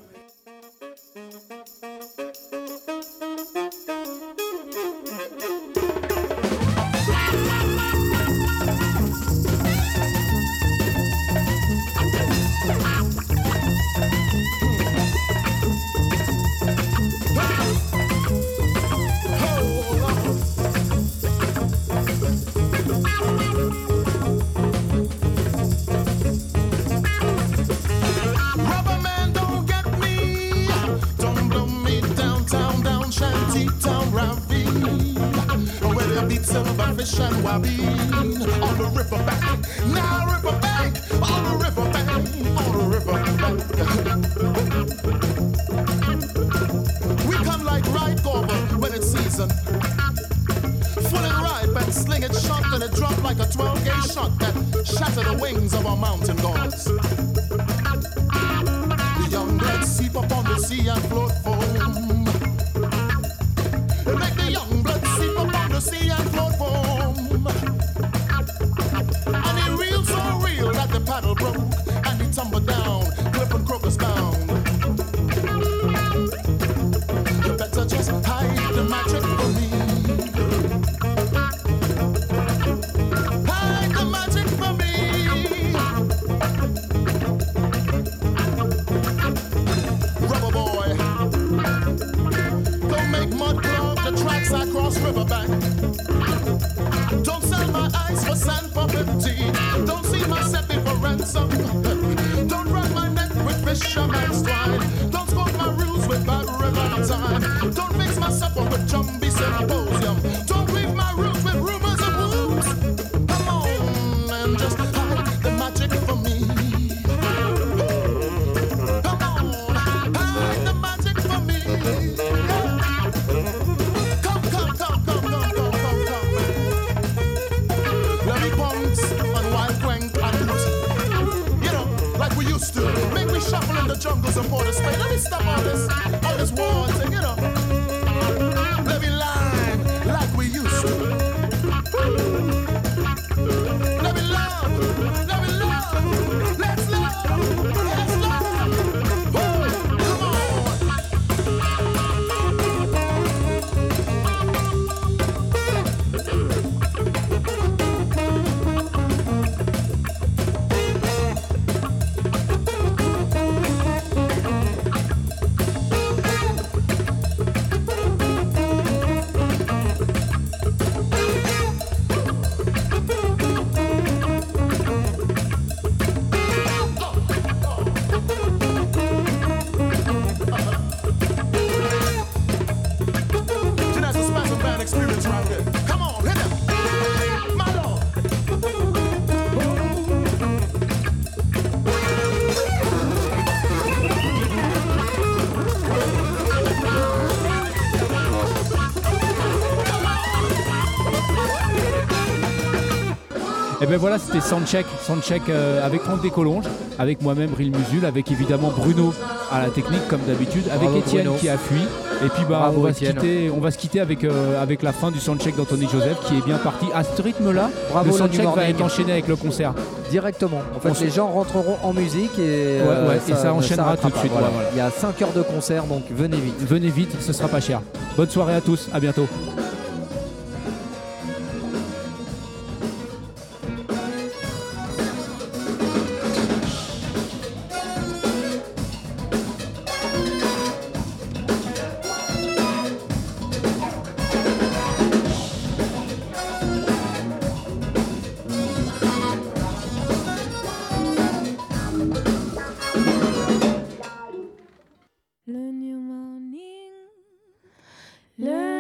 Rubber man, don't get me. Don't blow me downtown, down shanty town ravine. Where they beat silverfish and wabine on the riverbank. Now riverbank, on the riverbank, on the riverbank. We come like right over when it's season. Full and ripe and sling it shot and it drop like a twelve gauge shot that shatter the wings of our mountain gods. The young blood seep up on the sea and float foam. They make the young blood seep up on the sea and float foam. And it reeled so real that the paddle broke and he tumbled down, cliff and crocus bound. You better just hide the magic for me. Hide the magic for me. Rubber boy, don't make mud clog the tracks I cross riverbank. Don't sell my eyes for sand for fifty. Don't see my seppi for ransom. Don't run my neck with fisherman's twine. Don't smoke my rules with bad river time. Don't mix my supper with jumbie symposium. Don't leave my roots with rumors and wounds. Come on and just hide the magic for me. Come on, hide the magic for me. Come, come, come, come, come, come, come, come. Let me punks and wild crank and root. You know, like we used to. Make me shuffle in the jungles of Port of Spain. Let me stop all this, all this war thing, you know. Let me line like we used to. Let me love, let me love, let's love, let's love. Woo, come on. Et ben voilà, c'était Soundcheck, Soundcheck euh, avec Franck Descolonges, avec moi-même Ril Musul, avec évidemment Bruno à la technique comme d'habitude, avec Bravo, Étienne Bruno. qui a fui. Et puis bah Bravo, on va se Étienne. quitter, on va se quitter avec euh, avec la fin du Soundcheck d'Anthony Joseph qui est bien parti. À ce rythme-là, Bravo, le le Soundcheck New va Morning. être enchaîné avec le concert. Directement. En fait, On se- les gens rentreront en musique et, Ouais, ouais, et ça ne enchaînera s'arrêtera tout de pas. suite, Voilà. ouais, voilà. Il y a cinq heures de concert, donc venez vite. Venez vite, ce sera pas cher. Bonne soirée à tous, à bientôt. Le new morning, le